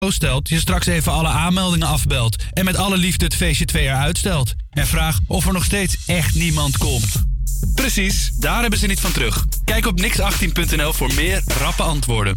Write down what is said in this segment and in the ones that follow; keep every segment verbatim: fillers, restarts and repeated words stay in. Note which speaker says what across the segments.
Speaker 1: Zo stelt je straks even alle aanmeldingen afbelt en met alle liefde het feestje twee jaar uitstelt. En vraag of er nog steeds echt niemand komt. Precies, daar hebben ze niet van terug. Kijk op nix achttien punt n l voor meer rappe antwoorden.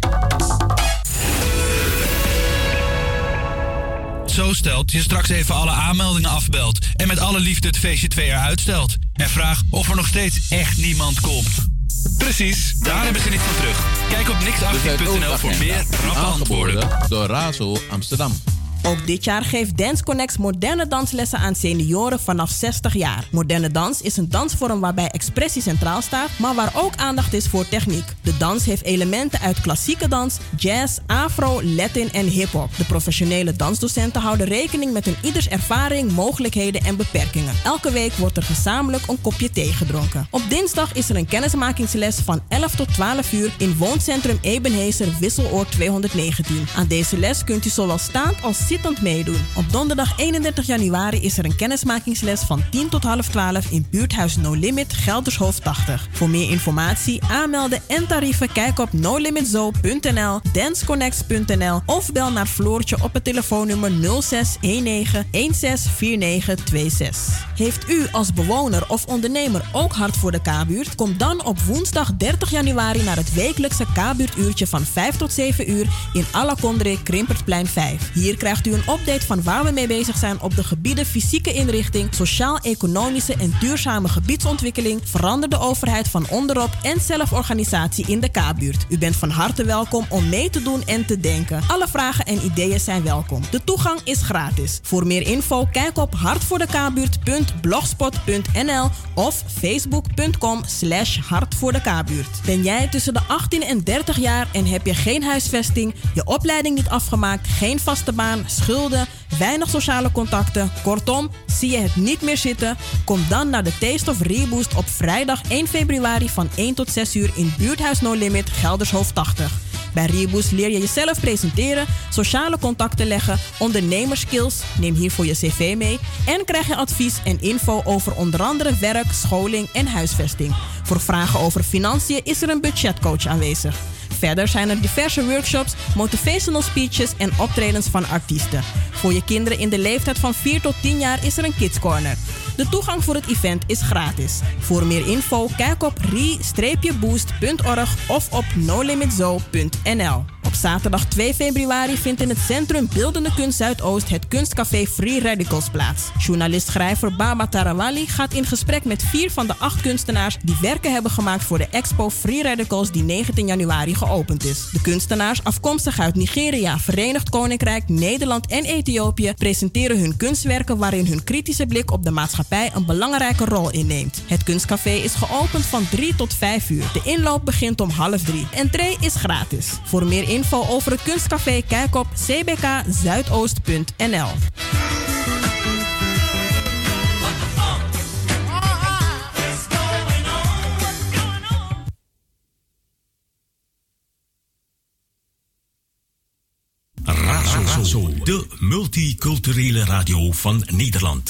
Speaker 1: Zo stelt je straks even alle aanmeldingen afbelt en met alle liefde het feestje twee jaar uitstelt. En vraag of er nog steeds echt niemand komt. Precies, daar hebben ze niet van terug. Kijk op nix achttien punt n l voor meer rappe antwoorden.
Speaker 2: Door Razo Amsterdam.
Speaker 3: Ook dit jaar geeft Dance Connects moderne danslessen aan senioren vanaf zestig jaar. Moderne dans is een dansvorm waarbij expressie centraal staat, maar waar ook aandacht is voor techniek. De dans heeft elementen uit klassieke dans, jazz, afro, latin en hip-hop. De professionele dansdocenten houden rekening met een ieders ervaring, mogelijkheden en beperkingen. Elke week wordt er gezamenlijk een kopje thee gedronken. Op dinsdag is er een kennismakingsles van elf tot twaalf uur in wooncentrum Ebenezer Wisseloord tweehonderdnegentien. Aan deze les kunt u zowel staand als zittend meedoen. Op donderdag eenendertig januari is er een kennismakingsles van tien tot half twaalf in buurthuis No Limit Geldershoofd tachtig. Voor meer informatie, aanmelden en tarieven kijk op no limit zo punt n l, danceconnects punt n l of bel naar Floortje op het telefoonnummer nul zes een negen een zes vier negen twee zes. Heeft u als bewoner of ondernemer ook hart voor de K-buurt? Kom dan op woensdag dertig januari naar het wekelijkse K-buurtuurtje van vijf tot zeven uur in Alakondre Krimpertplein vijf. Hier krijgt u een update van waar we mee bezig zijn op de gebieden fysieke inrichting, sociaal-economische en duurzame gebiedsontwikkeling, veranderde overheid van onderop en zelforganisatie in de K-buurt. U bent van harte welkom om mee te doen en te denken. Alle vragen en ideeën zijn welkom. De toegang is gratis. Voor meer info kijk op hartvoordekabuurt punt blogspot punt n l of facebook punt com slash hartvoordekabuurt. Ben jij tussen de achttien en dertig jaar en heb je geen huisvesting, je opleiding niet afgemaakt, geen vaste baan, schulden, weinig sociale contacten, kortom, zie je het niet meer zitten? Kom dan naar de Taste of Reboost op vrijdag één februari van één tot zes uur in buurthuis No Limit Geldershoofd tachtig. Bij Reboost leer je jezelf presenteren, sociale contacten leggen, ondernemerskills, neem hiervoor je cv mee en krijg je advies en info over onder andere werk, scholing en huisvesting. Voor vragen over financiën is er een budgetcoach aanwezig. Verder zijn er diverse workshops, motivational speeches en optredens van artiesten. Voor je kinderen in de leeftijd van vier tot tien jaar is er een Kids Corner. De toegang voor het event is gratis. Voor meer info kijk op re boost punt org of op no limit zo punt n l. Op zaterdag twee februari vindt in het Centrum Beeldende Kunst Zuidoost het kunstcafé Free Radicals plaats. Journalist-schrijver Baba Tarawali gaat in gesprek met vier van de acht kunstenaars die werken hebben gemaakt voor de expo Free Radicals die negentien januari geopend is. De kunstenaars, afkomstig uit Nigeria, Verenigd Koninkrijk, Nederland en Ethiopië, presenteren hun kunstwerken waarin hun kritische blik op de maatschappij een belangrijke rol inneemt. Het kunstcafé is geopend van drie tot vijf uur. De inloop begint om half drie. Entree is gratis. Voor meer info over het kunstcafé kijk op c b k zuidoost punt n l.
Speaker 4: Razo, de multiculturele radio van Nederland.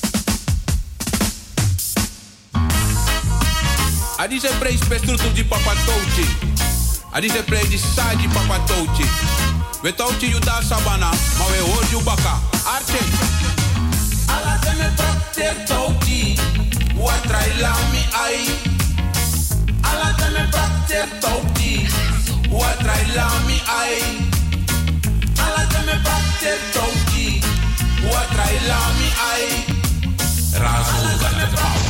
Speaker 5: Adi se prej spestrutu di papa touchi. Adi se prej di saji papa touchi. We touchi you da sabana, ma we hold you baka. Arche. Ala se me prakter touchi. Wat trai la mi ai. Ala se me prakter touchi. Wat trai la mi ai. Ala se me prakter touchi. Wat trai la mi ai. Razo got the power.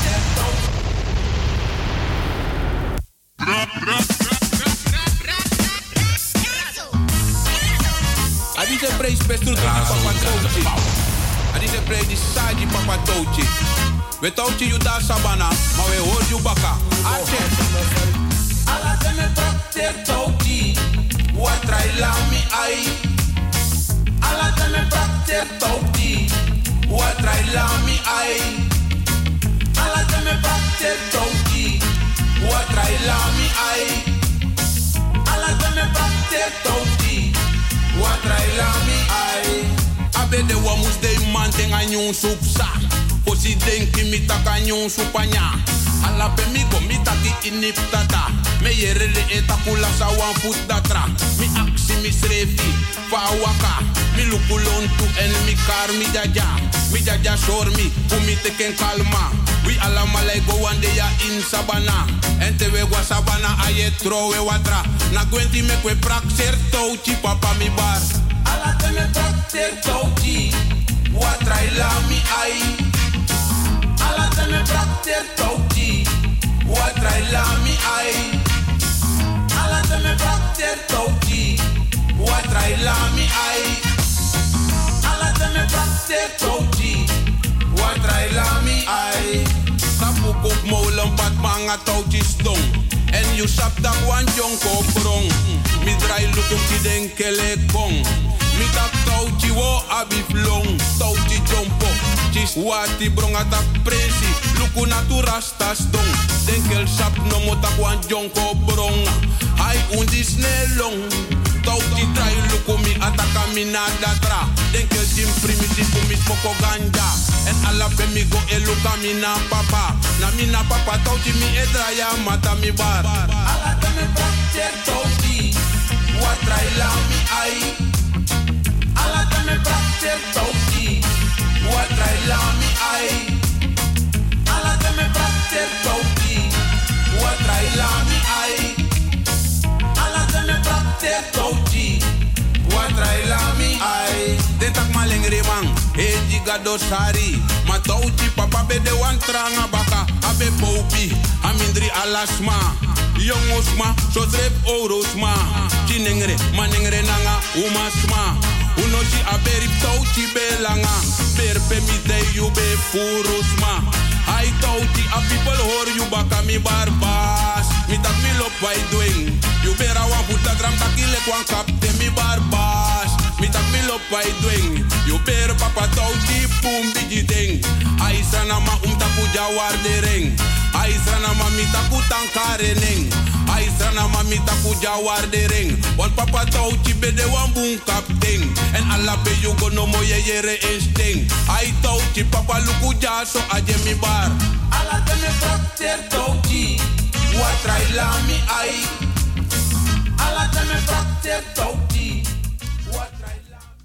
Speaker 5: Adi se prej spestrutu di papa touchi. Adi se prej di saji papa touchi. We touchi you da sabana, ma we hold you baka. Arche. Ala se me prakter touchi. Wat trai la mi ai. Ala se me prakter touchi. Wat trai la mi ai. Ala se me prakter touchi. Wat trai la mi ai. Ala se me prakter touchi. Wat trai la mi ai. Abe de wamus de man ten a nyun supsa. Posi denki mi taka nyun supanya. Alla pe mi go mi taki inip tata. Me yerele etakula sa wan foot datra. Mi aksi mi srefi fa waka. Mi lukulon tu en mi kar mi jaja. Mi jaja shor mi umi teken kalma. We alla malay go one day in sabana. En te we wa sabana aye trowe watra. Na gwenti me kwe praxer touchi papa mi bar. Alla te me praxer touchi. Watra ila mi ai. Alla te me praxer touchi. Watra ila mi ai. Alla te me praxer touchi. Watra ila mi ai. Alla te me praxer touchi. Watra ila mi ai. Tapu kok molen pat manga touchis dong. En you sap dat wan jonko brong. Mi drai lukum ti denkele kong. Mi tak touchi wo abif long. Touchi jompo. Chis wati brong atak presi. Luku natu rastas dong. Denkel sap no mo tak wan jonko brong. Hai undis nelong. Touchi trai luku mi ataka mi nada tra. Denkel jim primiti kumit poko ganja. En alla pe mi go eluka mi na papa. Na mi na papa touchi mi edraya mata mi bar. Alla te me praxer touchi. Watra ila mi ai. Alla te me praxer touchi. Watra ila mi ai. Alla te me praxer touchi. Watra ila mi ai. Alla te me praxer touchi. Watra ila mi ai. Dentak maleng remang. E jiga dosari. Ma touchi papa be de wan tranga baka. Abe popi. Amindri alasma. Jongosma, so drep orosma. Chinengre, manengre nanga, umasma. Unochi aberi touchi belanga. Berpe mi de you be furusma. I touchi a people hor you baka mi barbas. Mi tak mi lop wai doing. You bera wan puta dram takile kwan kapte mi barbas. Mi tak mi lop wai doing. You bera papa touchi pum bigi ding. Aisana ma um taku jawar de ring. Aisana ma mi taku tankare ning. Aisana ma mi taku jawar de ring. Want papa touchi be de wan boom kapting. En alla be you go no mo ye yere insting. I touchi papa luku jaso aje mi bar. Alla te me praxer touchi. Watra ila mi ai. Alla te me praxer touchi. Watra ila mi.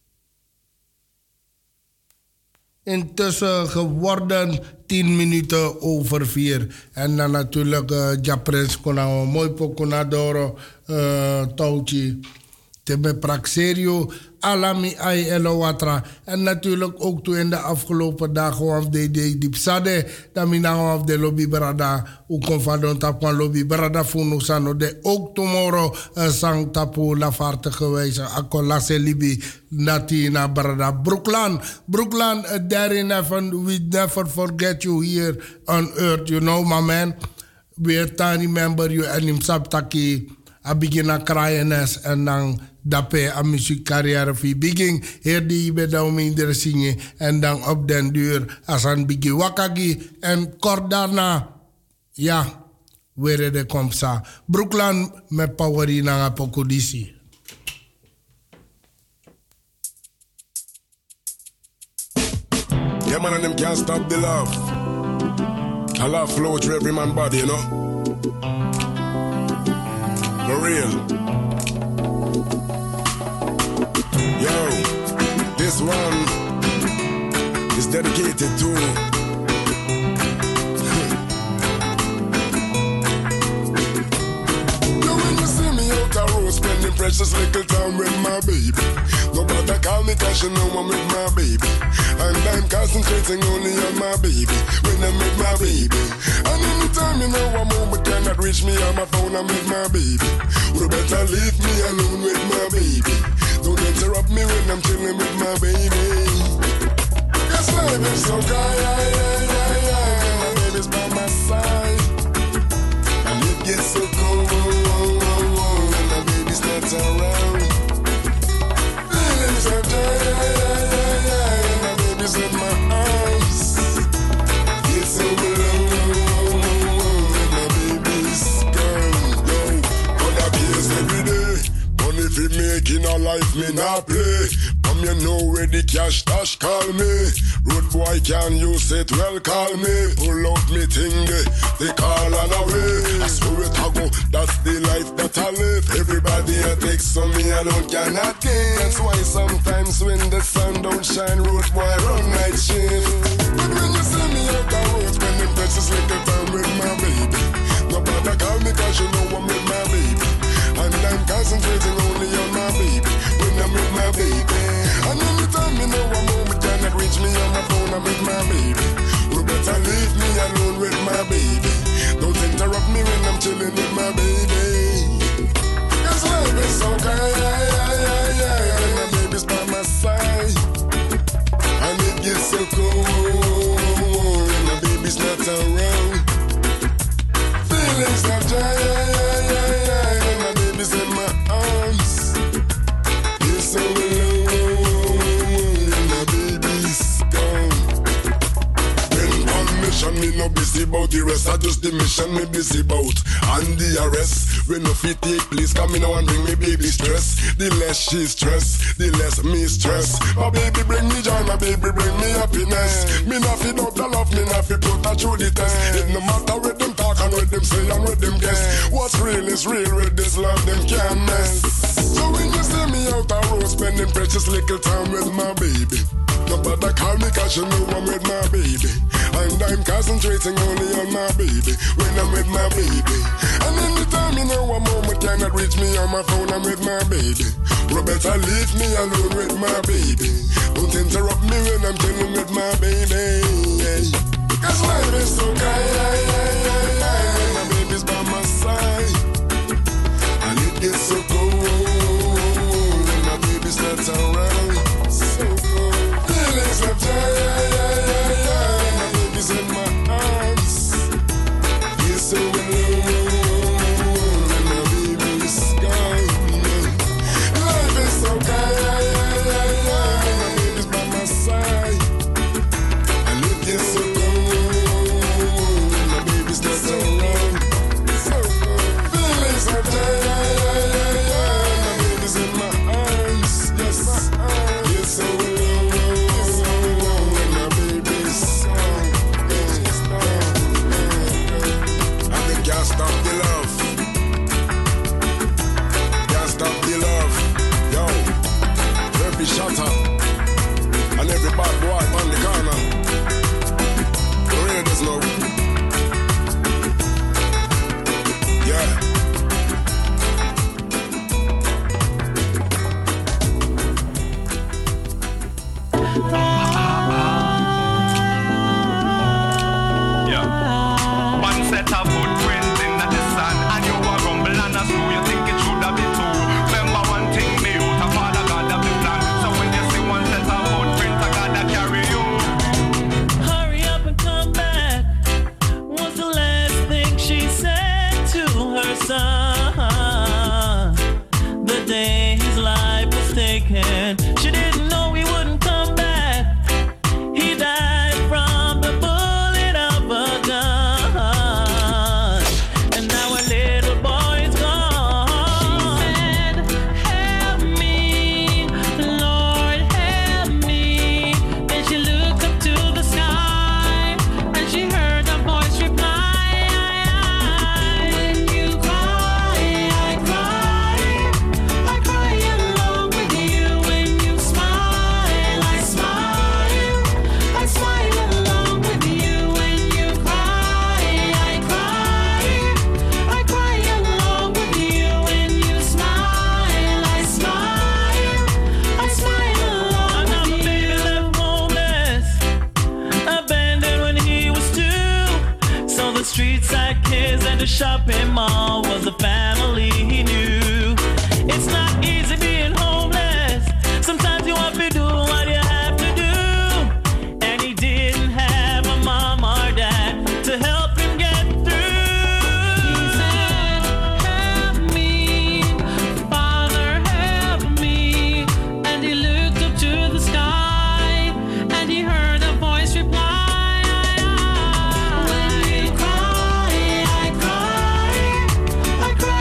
Speaker 2: Intussen geworden tien minuten over vier. En dan natuurlijk uh, Japrins kon nou een mooi pokonadoro uh, touchi. Tebe praxerio, alami ai elo watra. En natuurlijk ook toen in de afgelopen dagen of de de dipsade, dan mina of de lobby brada, u kon van don tapwan lobby brada funu sano de ook tomorrow uh, sang tapu la vaarte geweest. Akola se libi nati na brada Brooklyn. Brooklyn, uh, there never, we never forget you here on earth, you know my man. We can remember you en him sabtaki. A begin a cryenes en dan dape a muziekcarrière fi begin her die be dan minder zingen en dan op den duur as an bigi wakagi en kort daarna ja weer de komsa Brooklyn met poweri na pokodisi.
Speaker 6: Yeah man and them can't stop the love. I love flow through every man body, you know. For real. Yo, this one is dedicated to Yo, when you see me out the road spending precious little time with my baby. Nobody call me cause you know I'm with my baby. And I'm concentrating only on my baby when I'm with my baby. And anytime you know a moment cannot reach me on my phone, I'm with my baby. You better leave me alone with my baby. Don't interrupt me when I'm chilling with my baby. Yes, life is so good, yeah, yeah, yeah, yeah. My baby's by my side. And it gets so cold when my baby's not around. Feelings are joy, yeah, yeah, yeah, yeah. And my baby's in my arms. It's so long when my baby's gone. Yo, other bills every day. Money fi making a life me not play. Come you know where the cash dash call me. Road boy can use it, well call me. Pull out me thing they, they call on away. I swear it I go, that's the life that I live. Everybody a take some me alone cannot give. That's why sometimes when the sun don't shine, road boy run night shift. But when you see me out the road, spending precious little time with my baby. Nobody call me cause you know I'm with my baby. And I'm concentrating only on my baby. When I'm with my baby. And anytime you know I'm home, you cannot reach me on my phone, I'm with my baby. You better leave me alone with my baby. Don't interrupt me when I'm chilling with my baby. Cause life is so good, yeah, yeah, yeah, yeah. And my baby's by my side. And it gets so cold when my baby's not around. Feelings of joy, yeah, yeah, yeah, yeah. And my baby's in my arms. It's so alone and my baby's gone. When on mission, me no busy about the rest. I just the mission me busy about. And the arrest. When no fit take place, come in now and bring me baby stress. The less she stress, the less me stress. My baby bring me joy, my baby bring me happiness. Me not fit up the love, me not fit put her through the test. It no matter what them talk and what them say and what them guess. What's real is real, with this love them can't mess. So when you see me out the road, spending precious little time with my baby. Nobody call me cause you know I'm with my baby. And I'm concentrating only on my baby. When I'm with my baby. And anytime you know I'm home, you cannot reach me on my phone, I'm with my baby. You better leave me alone with my baby. Don't interrupt me when I'm chilling with my baby. Cause life is so good, yeah, yeah, yeah, yeah. When my baby's by my side. And it gets so cold when my baby's not around. So cold. Feelings of joy, yeah, yeah, yeah, yeah. And my baby's in my arms. He's so alone and my baby's gone. Life is so good, yeah, yeah, yeah, yeah. And my baby's by my side. And it gets so cold when my baby's not around. So cold. Feelings of joy, yeah, yeah, yeah, yeah. And my baby's in my arms. Yes, he's so alone. Can't stop the love. Can't stop the love. Yo, every shutter and every bad boy on the corner. You really just know. Yeah.
Speaker 7: Yeah. One set of footprints.
Speaker 8: The day his life was taken, she didn't know he wouldn't come back. He died from the bullet of a gun, and now a little boy is gone. She said, help me, Lord, help me. Then she looked up to the sky, and she heard a voice reply. Streets like his and the shopping mall was a family he knew. It's not easy being homeless. Sometimes you have to do what you have to do. And he didn't have a mom or dad to help him get through. He said, help me, Father, help me. And he looked up to the sky, and he heard a voice reply. I cry.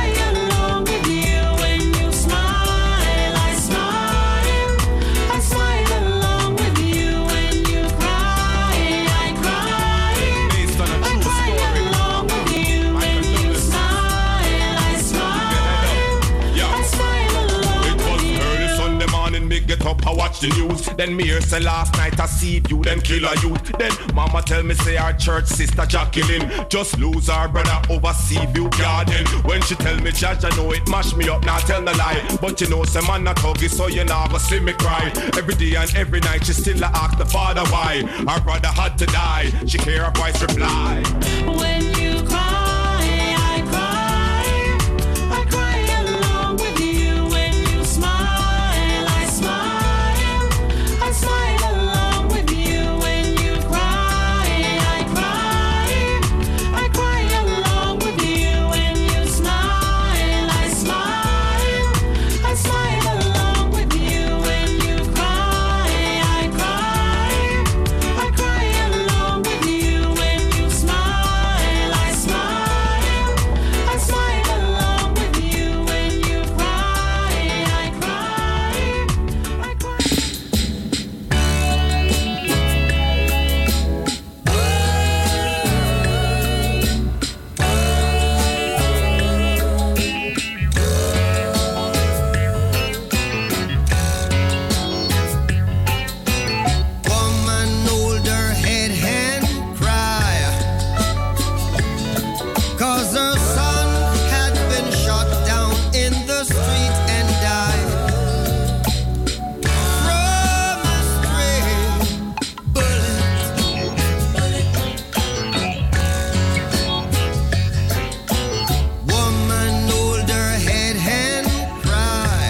Speaker 9: watch the news. Then me hear say last night I see you, then kill a youth. Then mama tell me say our church sister Jacqueline just lose her brother over Seaview Garden. When she tell me judge, I know it mash me up, not tell no lie. But you know some man not huggy, so you never see me cry. Every day and every night she still ask the father why her brother had to die. She hear her voice reply.
Speaker 8: When you cry, I cry. I cry along with you. When you smile, I smile. I smile along with you. When you cry, I cry. I cry along with you. When you smile, I smile. I smile along with you. When you cry, I cry. I cry along with you. When you smile, I smile. I smile along with you. When you cry, I cry. I cry.
Speaker 10: Woman hold her head and cry, 'cause her son had been shot down in the street and died from a stray bullet. Woman hold her head and cry,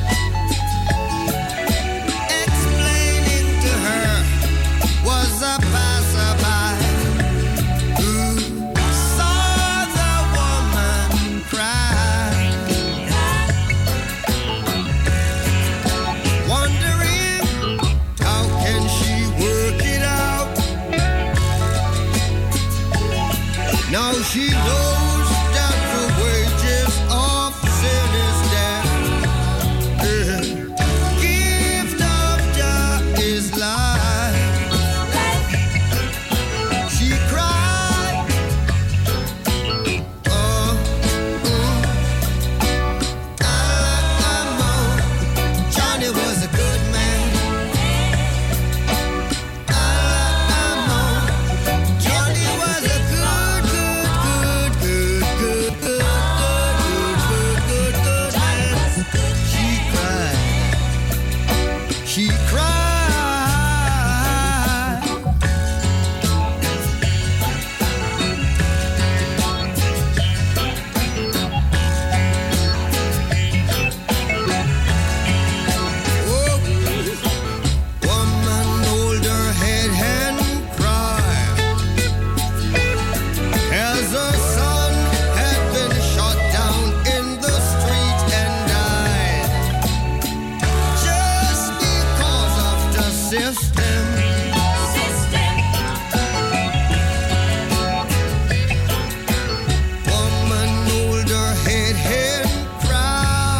Speaker 10: explaining to her was a passerby who saw the woman cry, wondering how can she work it out. Now she knows that the wages of sin is death. The gift of God is life. She cried, oh, mm, I'm on. Johnny was a good man. I'm on. Johnny was a good, good, good, good, good, good, good, good, good, good man. She cried. She cried. Oh, woman hold her head and cry, as her son had been shot down in the street and died just because of the system. Woman hold her head and cry,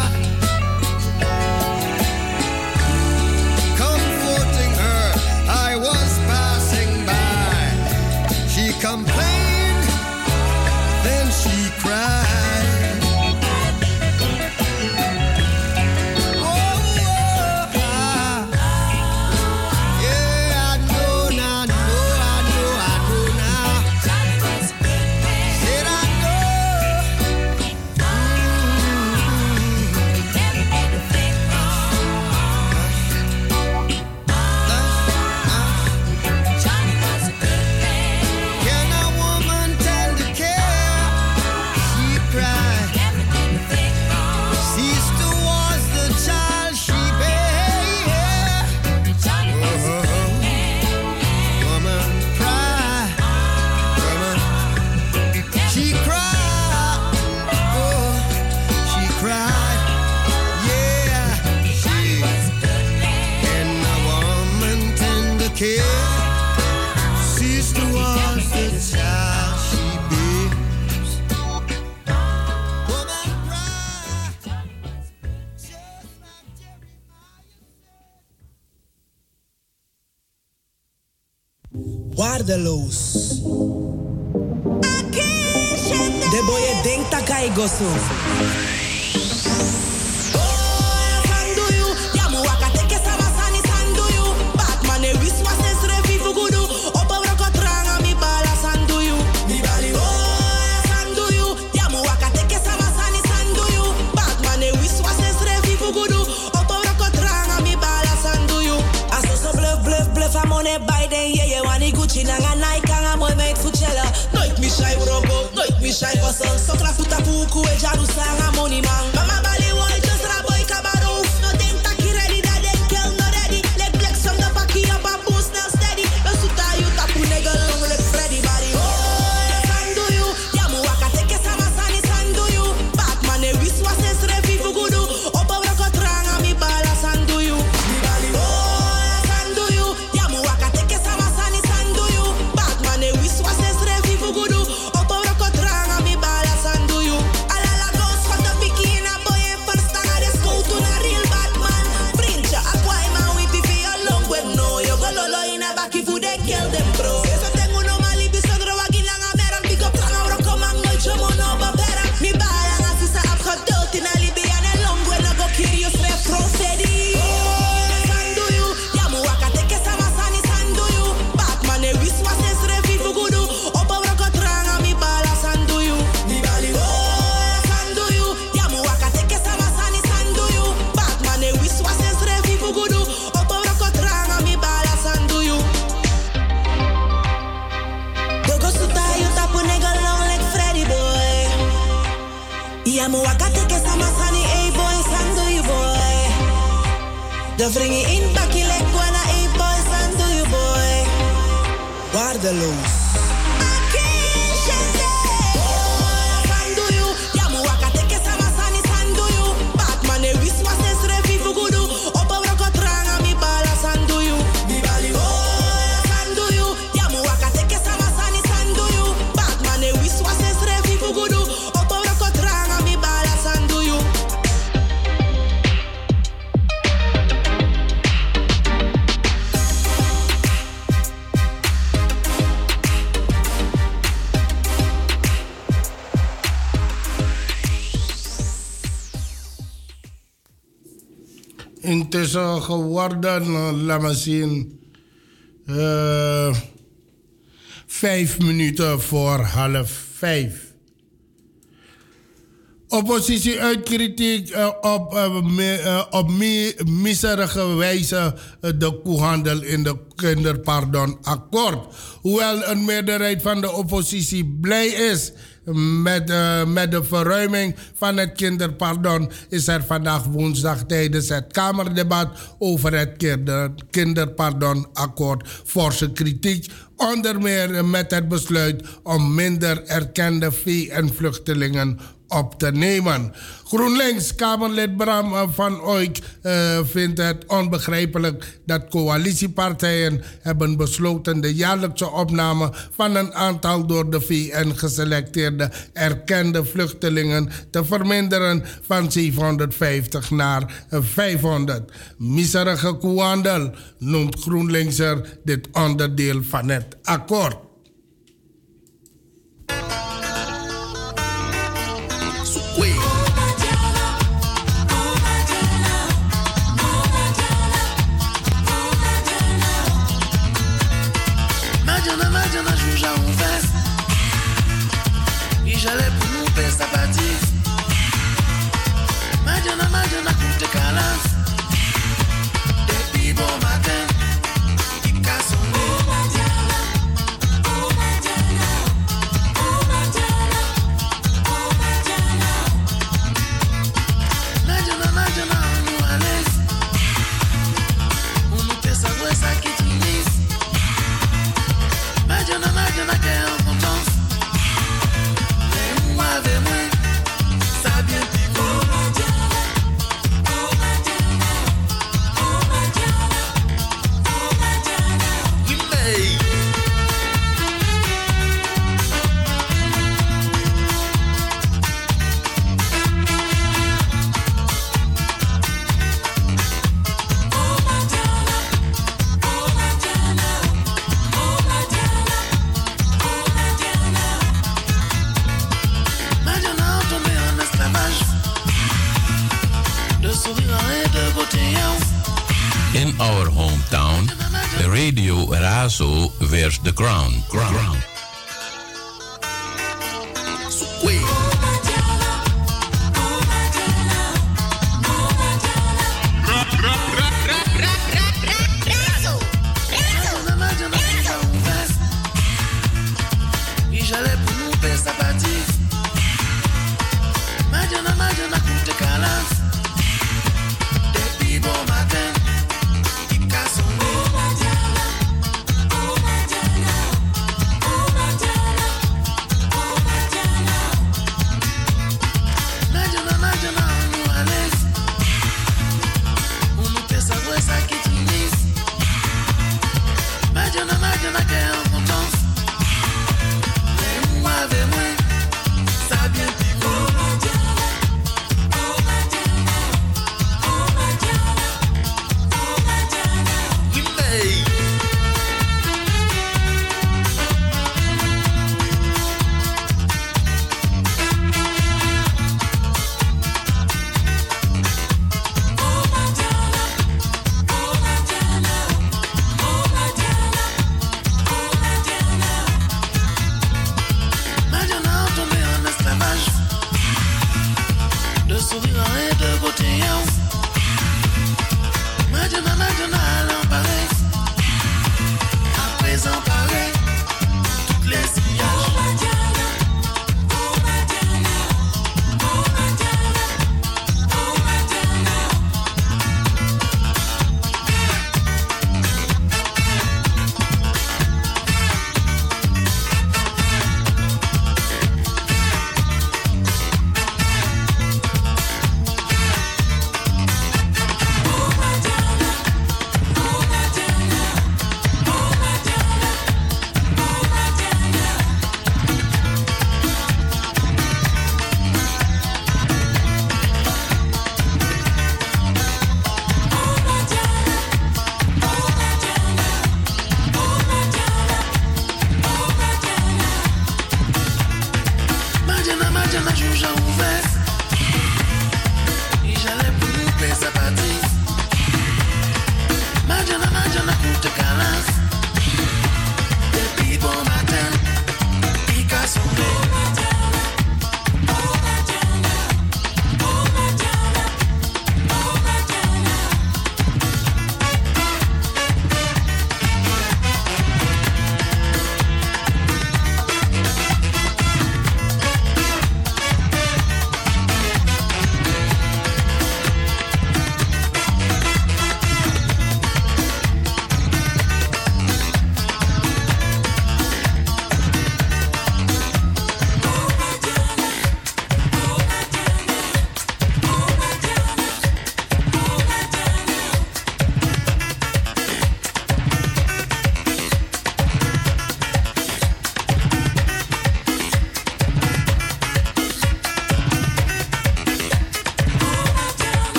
Speaker 10: comforting her. I was passing by. She complained, then she cried. Oh, oh, ah. Yeah, I know now, know, I know, I know now. Said I know. Can a woman tend to care? She cried. Sees towards the child she bear. Woman cry. Woman. She cried. Oh, she cried. Yeah, she. Can a woman tend to care? Sees towards the child she bears. Woman cry.
Speaker 11: Waardeloos. De boy denkt dat hij gozo. Oh, boy, yeah, yeah, wani Gucci nanga Nike anga mooi meid fuchella. Nooit mi shy robo, nooit mi shy hustle. Sokra futa puku e jaru sanga money man. Mama bali boy, just raboy kabaro. No think taki ready, that they kill no ready. Leg flex from the backy up a boost now steady. No suta you tapu nigga long leg Freddy body. Oh, sandu you, yamu waka teke sama sani sandu you. Batman e wiswa ses refi fugudu. Opa broko tranga mi bala sandu you. De vringie in bakkie lek wana e boy sandu you boy. Waardeloos.
Speaker 2: Intussen geworden, laat maar zien, uh, vijf minuten voor half vijf. Oppositie uit kritiek uh, op, uh, me, uh, op mi, miserige wijze uh, de koehandel in de kinderpardonakkoord. Hoewel een meerderheid van de oppositie blij is met, uh, met de verruiming van het kinderpardon, is er vandaag woensdag tijdens het Kamerdebat over het kinder, kinderpardonakkoord forse kritiek. Onder meer met het besluit om minder erkende vee- en vluchtelingen op te nemen. GroenLinks Kamerlid Bram van Ooyk uh, vindt het onbegrijpelijk dat coalitiepartijen hebben besloten de jaarlijkse opname van een aantal door de V N geselecteerde erkende vluchtelingen te verminderen van zevenhonderdvijftig naar vijfhonderd. Miserige koehandel noemt GroenLinkser dit onderdeel van het akkoord.
Speaker 12: J'allais pour nous faire sa partie. Madonna, Madonna, pour te calas. Depuis bon matin, il casse son nez. Oh Madonna, oh Madonna, oh Madonna, oh Madonna. Madonna, Madonna, on nous à l'aise. On nous fait savoir ça qui t'unisse. Madonna, Madonna, qu'elle est en contence. Avec moi, ça bien pico. Oh Madonna, oh Madonna, oh Madonna, oh Madonna. Oui, mais oh Madonna, oh Madonna, oh Madonna, oh Madonna. Madonna tombé en esclavage, de sourire et de beauté.
Speaker 13: In our hometown, Radio Razo wears the crown. crown.
Speaker 12: Razo, Razo, Razo.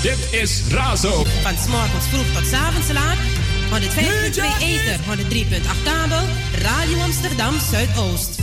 Speaker 14: Dit is Razo.
Speaker 15: Van 's morgens vroeg tot 's avonds laat. honderdvijf komma twee Ether, honderddrie komma acht kabel. Radio Amsterdam Zuidoost.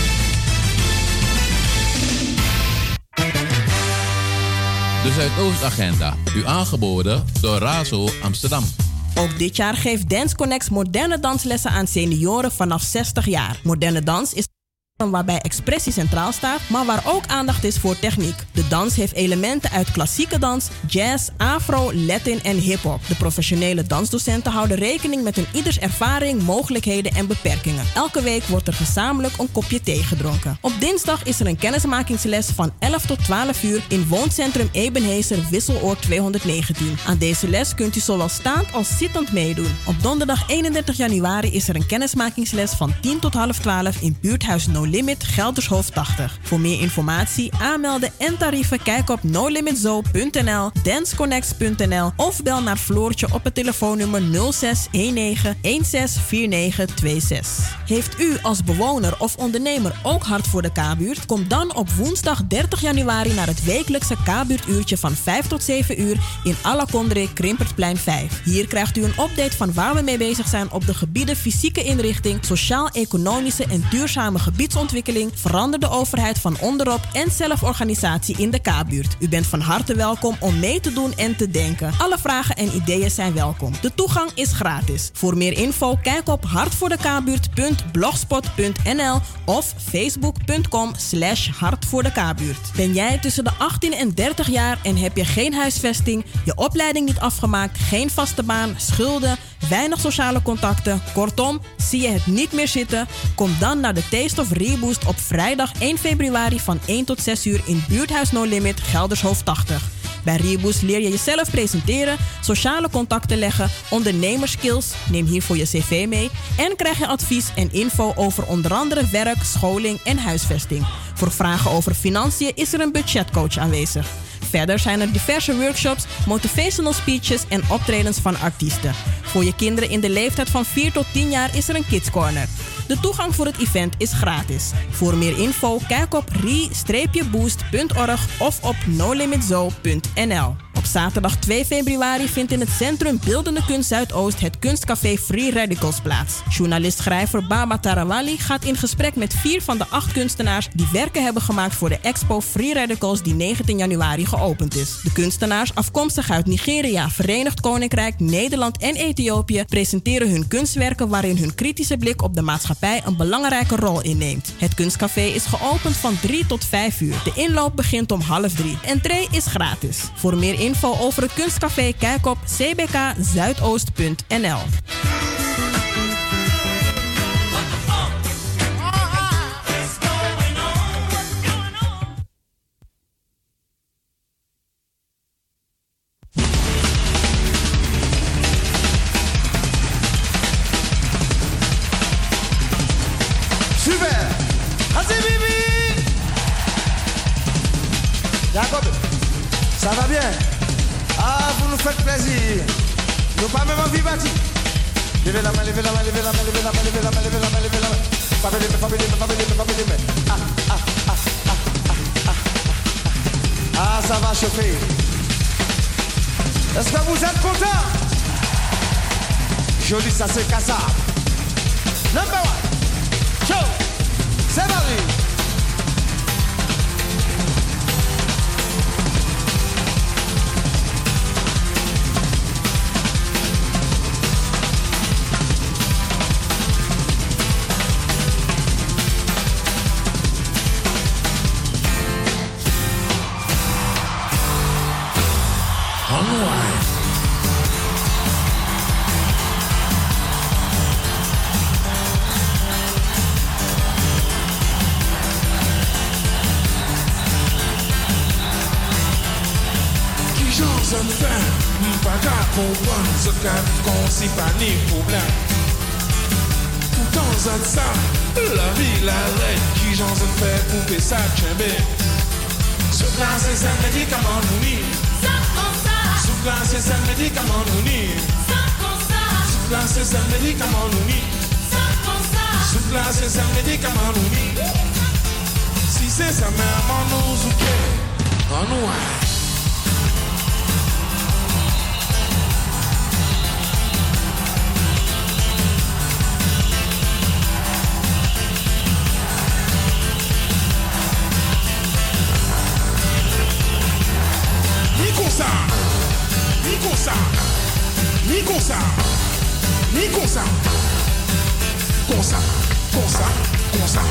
Speaker 13: De Zuidoostagenda, u aangeboden door Razo Amsterdam.
Speaker 3: Ook dit jaar geeft Dance Connect moderne danslessen aan senioren vanaf zestig jaar. Moderne dans is waarbij expressie centraal staat, maar waar ook aandacht is voor techniek. De dans heeft elementen uit klassieke dans, jazz, afro, latin en hip-hop. De professionele dansdocenten houden rekening met een ieders ervaring, mogelijkheden en beperkingen. Elke week wordt er gezamenlijk een kopje thee gedronken. Op dinsdag is er een kennismakingsles van elf tot twaalf uur in wooncentrum Ebenhezer Wisseloord tweehonderdnegentien. Aan deze les kunt u zowel staand als zittend meedoen. Op donderdag eenendertig januari is er een kennismakingsles van tien tot half twaalf in buurthuis No Limit Geldershoofd tachtig. Voor meer informatie, aanmelden en tarieven kijk op no limit zoo punt n l, danceconnects punt n l of bel naar Floortje op het telefoonnummer nul zes een negen een zes vier negen twee zes. Heeft u als bewoner of ondernemer ook hart voor de K-buurt? Kom dan op woensdag dertig januari naar het wekelijkse K-buurtuurtje van vijf tot zeven uur in Alakondre Krimpertplein vijf. Hier krijgt u een update van waar we mee bezig zijn op de gebieden fysieke inrichting, sociaal-economische en duurzame gebiedsontwikkeling, veranderde overheid van onderop en zelforganisatie in de K-buurt. U bent van harte welkom om mee te doen en te denken. Alle vragen en ideeën zijn welkom. De toegang is gratis. Voor meer info kijk op hartvoordekabuurt punt blogspot punt n l of facebook punt com slash hartvoordekabuurt. Ben jij tussen de achttien en dertig jaar en heb je geen huisvesting, je opleiding niet afgemaakt, geen vaste baan, schulden, weinig sociale contacten, kortom, zie je het niet meer zitten? Kom dan naar de Taste of Reboost op vrijdag één februari van één tot zes uur in buurthuis No Limit Geldershoofd tachtig. Bij Reboost leer je jezelf presenteren, sociale contacten leggen, ondernemerskills, neem hiervoor je cv mee en krijg je advies en info over onder andere werk, scholing en huisvesting. Voor vragen over financiën is er een budgetcoach aanwezig. Verder zijn er diverse workshops, motivational speeches en optredens van artiesten. Voor je kinderen in de leeftijd van vier tot tien jaar is er een Kids Corner. De toegang voor het event is gratis. Voor meer info kijk op re boost punt org of op no limit zoo punt n l. Op zaterdag twee februari vindt in het Centrum Beeldende Kunst Zuidoost het kunstcafé Free Radicals plaats. Journalist-schrijver Baba Tarawali gaat in gesprek met vier van de acht kunstenaars die werken hebben gemaakt voor de expo Free Radicals die negentien januari geopend is. De kunstenaars, afkomstig uit Nigeria, Verenigd Koninkrijk, Nederland en Ethiopië, presenteren hun kunstwerken waarin hun kritische blik op de maatschappij een belangrijke rol inneemt. Het kunstcafé is geopend van drie tot vijf uur. De inloop begint om half drie. Entree is gratis. Voor meer info over het kunstcafé kijk op c b k zuidoost punt n l.
Speaker 16: Super! Assez Bibi! Jacob, ça va bien? Ah, vous nous faites plaisir. Nous pas même envie bâti. Levez la main, levez la main, levez la main, levez la main, levez la main, levez la main, levez la main. Fabez les mains, fabez les mains, fabez les mains, fabez les mains. Ah, ah, ah, ah, ah, ah, ah. Ah, ça va chauffer. Est-ce que vous êtes contents? Joli, ça c'est cassable. Number one. Show. C'est parti.
Speaker 17: Comprendre ce qu'on s'y pas ni problème. Tout temps ça, la vie, la règle, qui j'en ai fait couper ça, tchèbe. Sous glace, c'est un médicament nous ni. Sous glace, c'est un médicament nous ni. Sous glace, c'est un médicament nous ni. Sous glace, c'est un médicament nous ni. Si c'est sa mère, on nous oublié. On nous comme ça, ni comme ça, ni comme ça, comme ça, comme ça, comme ça.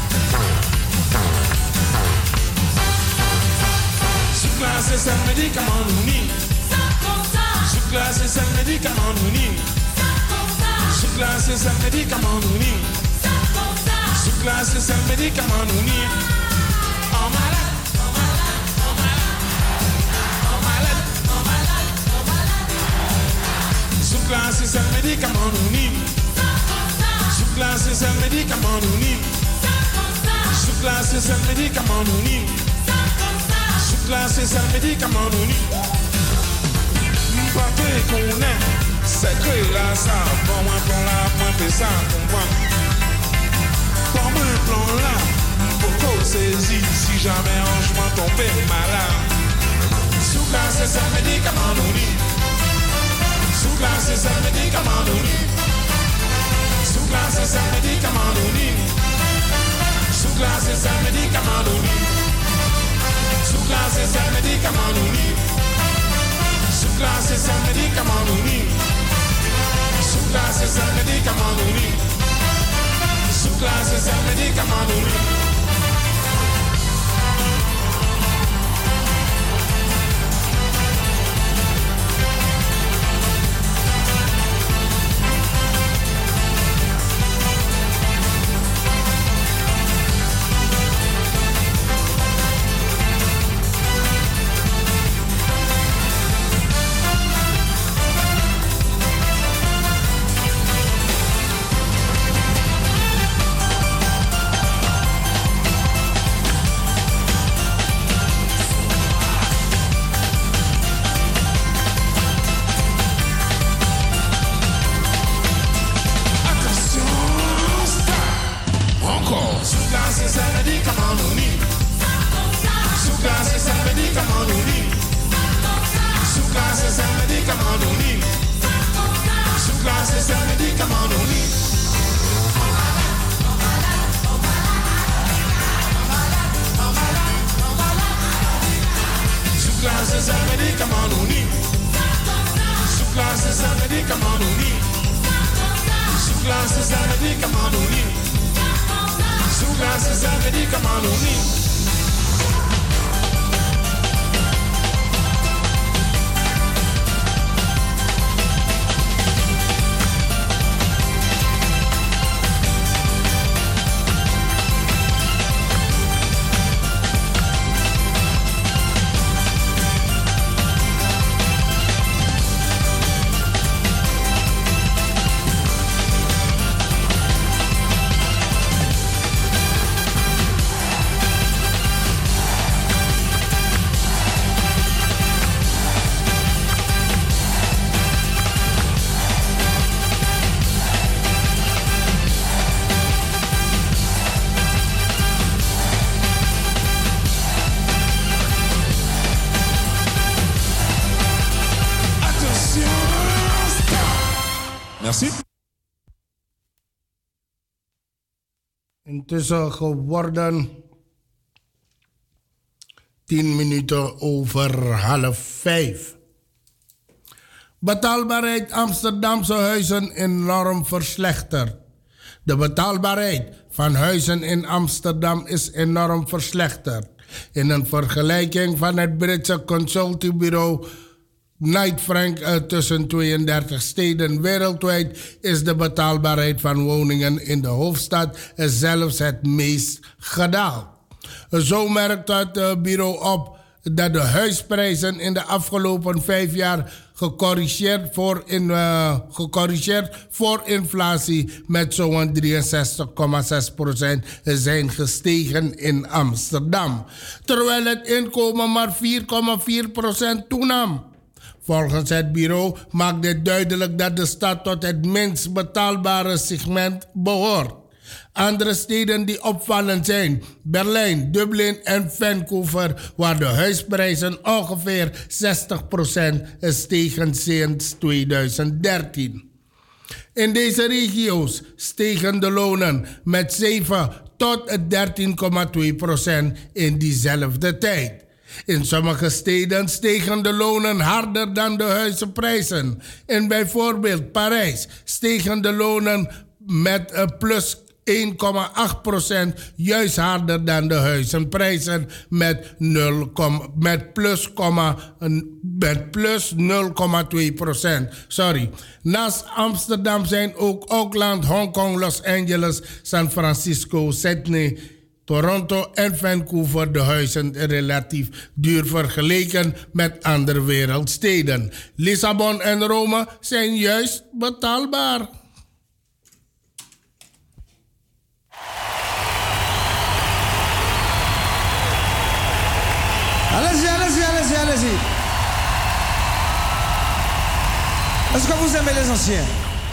Speaker 17: Sous glace c'est un médicament nous ni. Sous glace c'est un médicament nous ni. Sous glace c'est un médicament nous ni. Sous glace c'est un médicament nous ni. En malade. Sous glace c'est un médicament nous ni. Sous glace c'est un médicament nous ni. Sous glace c'est un médicament nous ni. Sous glace c'est un médicament nous ni. M'papé qu'on est, c'est que là ça, bon moi plan là, moi fais ça, comprends. Pour moi plan là, beaucoup saisi si jamais je m'en tombe malade. Sous glace c'est un médicament nous ni. Sous glace c'est un médicament nous ni. Sous glace c'est un médicament nous ni. Sous glace c'est un médicament nous ni. Sous glace c'est un médicament nous ni. Sous glace c'est un médicament nous ni. Sous glace c'est un médicament nous ni. Sous glace c'est un médicament nous ni. Merci.
Speaker 2: Intussen geworden tien minuten over half vijf. Betaalbaarheid Amsterdamse huizen enorm verslechterd. De betaalbaarheid van huizen in Amsterdam is enorm verslechterd. In een vergelijking van het Britse consultiebureau Knight Frank uh, tussen tweeëndertig steden wereldwijd is de betaalbaarheid van woningen in de hoofdstad zelfs het meest gedaald. Zo merkt het uh, bureau op dat de huisprijzen in de afgelopen vijf jaar gecorrigeerd voor, in, uh, gecorrigeerd voor inflatie met zo'n drieënzestig komma zes procent zijn gestegen in Amsterdam, terwijl het inkomen maar vier komma vier procent toenam. Volgens het bureau maakt dit duidelijk dat de stad tot het minst betaalbare segment behoort. Andere steden die opvallend zijn: Berlijn, Dublin en Vancouver, waar de huisprijzen ongeveer zestig procent stegen sinds tweeduizend dertien. In deze regio's stegen de lonen met zeven tot dertien komma twee procent in diezelfde tijd. In sommige steden stegen de lonen harder dan de huizenprijzen. In bijvoorbeeld Parijs stegen de lonen met een plus één komma acht procent, juist harder dan de huizenprijzen met, nul, met plus, met plus nul komma twee procent. Sorry. Naast Amsterdam zijn ook Auckland, Hongkong, Los Angeles, San Francisco, Sydney, Toronto en Vancouver de huizen relatief duur vergeleken met andere wereldsteden. Lissabon en Rome zijn juist betaalbaar.
Speaker 16: Allez-y, allez-y, allez-y, allez-y. Est-ce que vous aimez les anciens?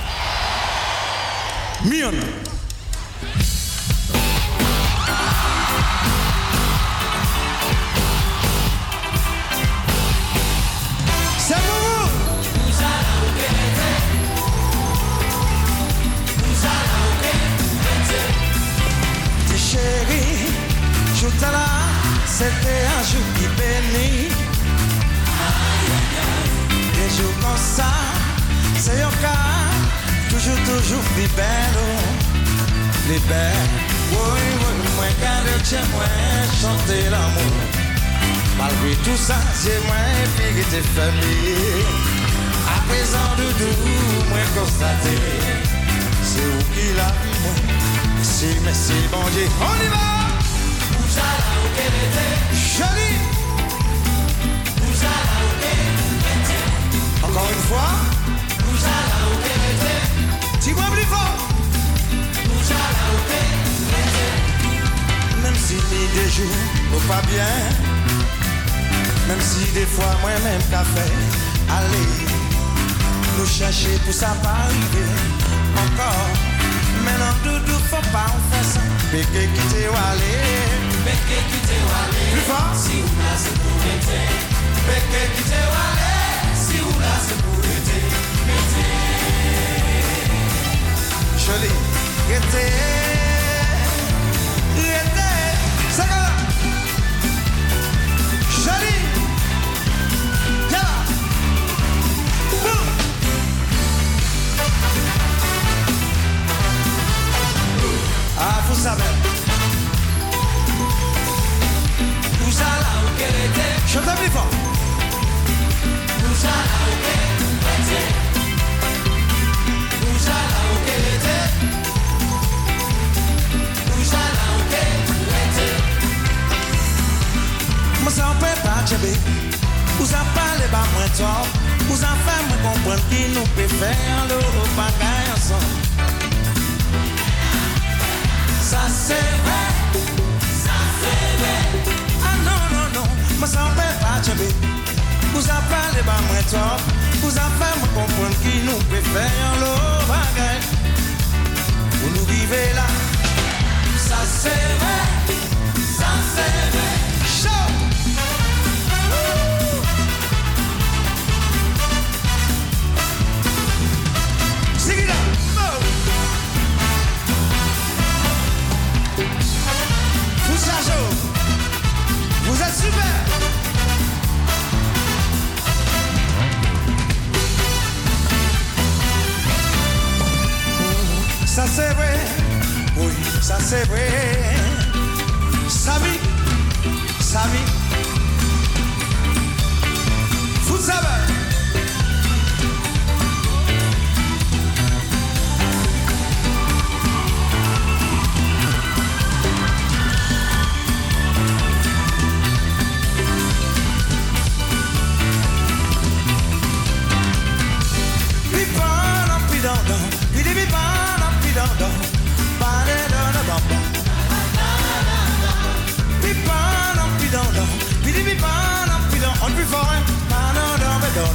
Speaker 16: Mion. C'est pour vous. Tes chéris, je t'ai là. C'était un jour qui bénit. Des jours comme ça, c'est un cas. Toujours, toujours plus belle. Les belles. Oui, oui, moi, garde chez moi, chanter l'amour. Malgré tout ça, c'est moi, puis tes familles. À présent, doudou, moi, constaté. C'est où qu'il a vu, moi. Merci, merci, bon Dieu. On y va! Jolie. Encore une fois. Dis-moi plus fort. Même si des jours ou pas bien, même si des fois moi-même qu'a fait, allez, nous chercher pour ça pas arriver encore. Maintenant doudou faut pas en faire ça. Péké quitter ou aller. Péké quitter ou aller. Plus fort. Si ou là c'est pour l'été. Péké quitter ou aller. Si ou là c'est pour l'été. L'été. Joli. L'été. L'été. Ça va. Joli. Viens là. Boum. Ah, vous savez. Vous allez au Kélété. Je t'aime plus fort. Vous allez au Kélété. Vous allez au Kélété. Vous allez au Kélété. Moi, ça ne peut pas tchéber. Vous en parlez pas moins tôt. Vous en faites me comprendre qui nous peut faire le bagaille ensemble. Ça c'est vrai, ça c'est vrai. Ah non, non, non, moi ça ne peut pas tchéber. Vous en parlez pas moins tôt. Vous en faites me comprendre qui nous peut faire le bagaille. Vous nous vivez là. Ça c'est vrai, ça c'est vrai. Chaud. Sing it up. Vous êtes super. Ça c'est vrai, oui, ça c'est vrai. Samy, Samy, vous savez. On plus fort, hein?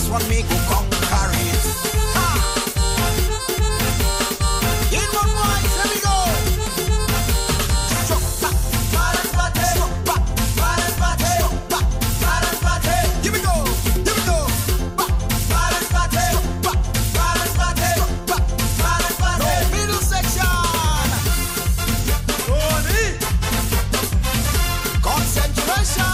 Speaker 14: one me go conquer it. Ha! In one voice, here we go. Struck back, balance party. Struck back, balance party. Struck back, balance party. Here we go, here we go. Back, balance party. Struck back, balance party. Struck back, balance party. No middle section. Tony. Concentration.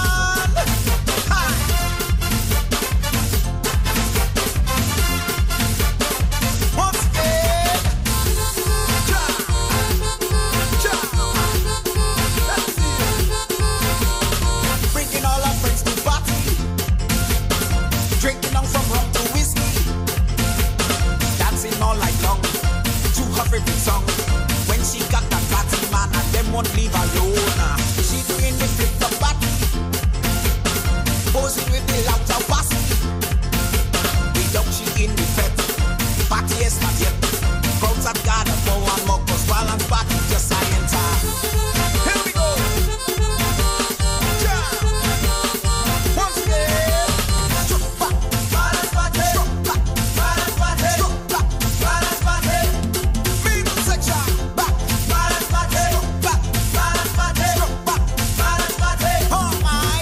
Speaker 14: Drinking on from rum to whiskey, dancing all night long to her favorite song. When she got that party man and them won't leave alone. She doing the flip the body, posing with the louder bossy. Without she in the fete, party is not yet. Crowds have gathered for one more cause balance party just I enter. Here we go. Yeah. Once again. Struck back, balance party. Struck back, balance party. Struck back, balance party. Middle section. Back, balance party. Struck back, balance party. Struck back, balance party. Oh my.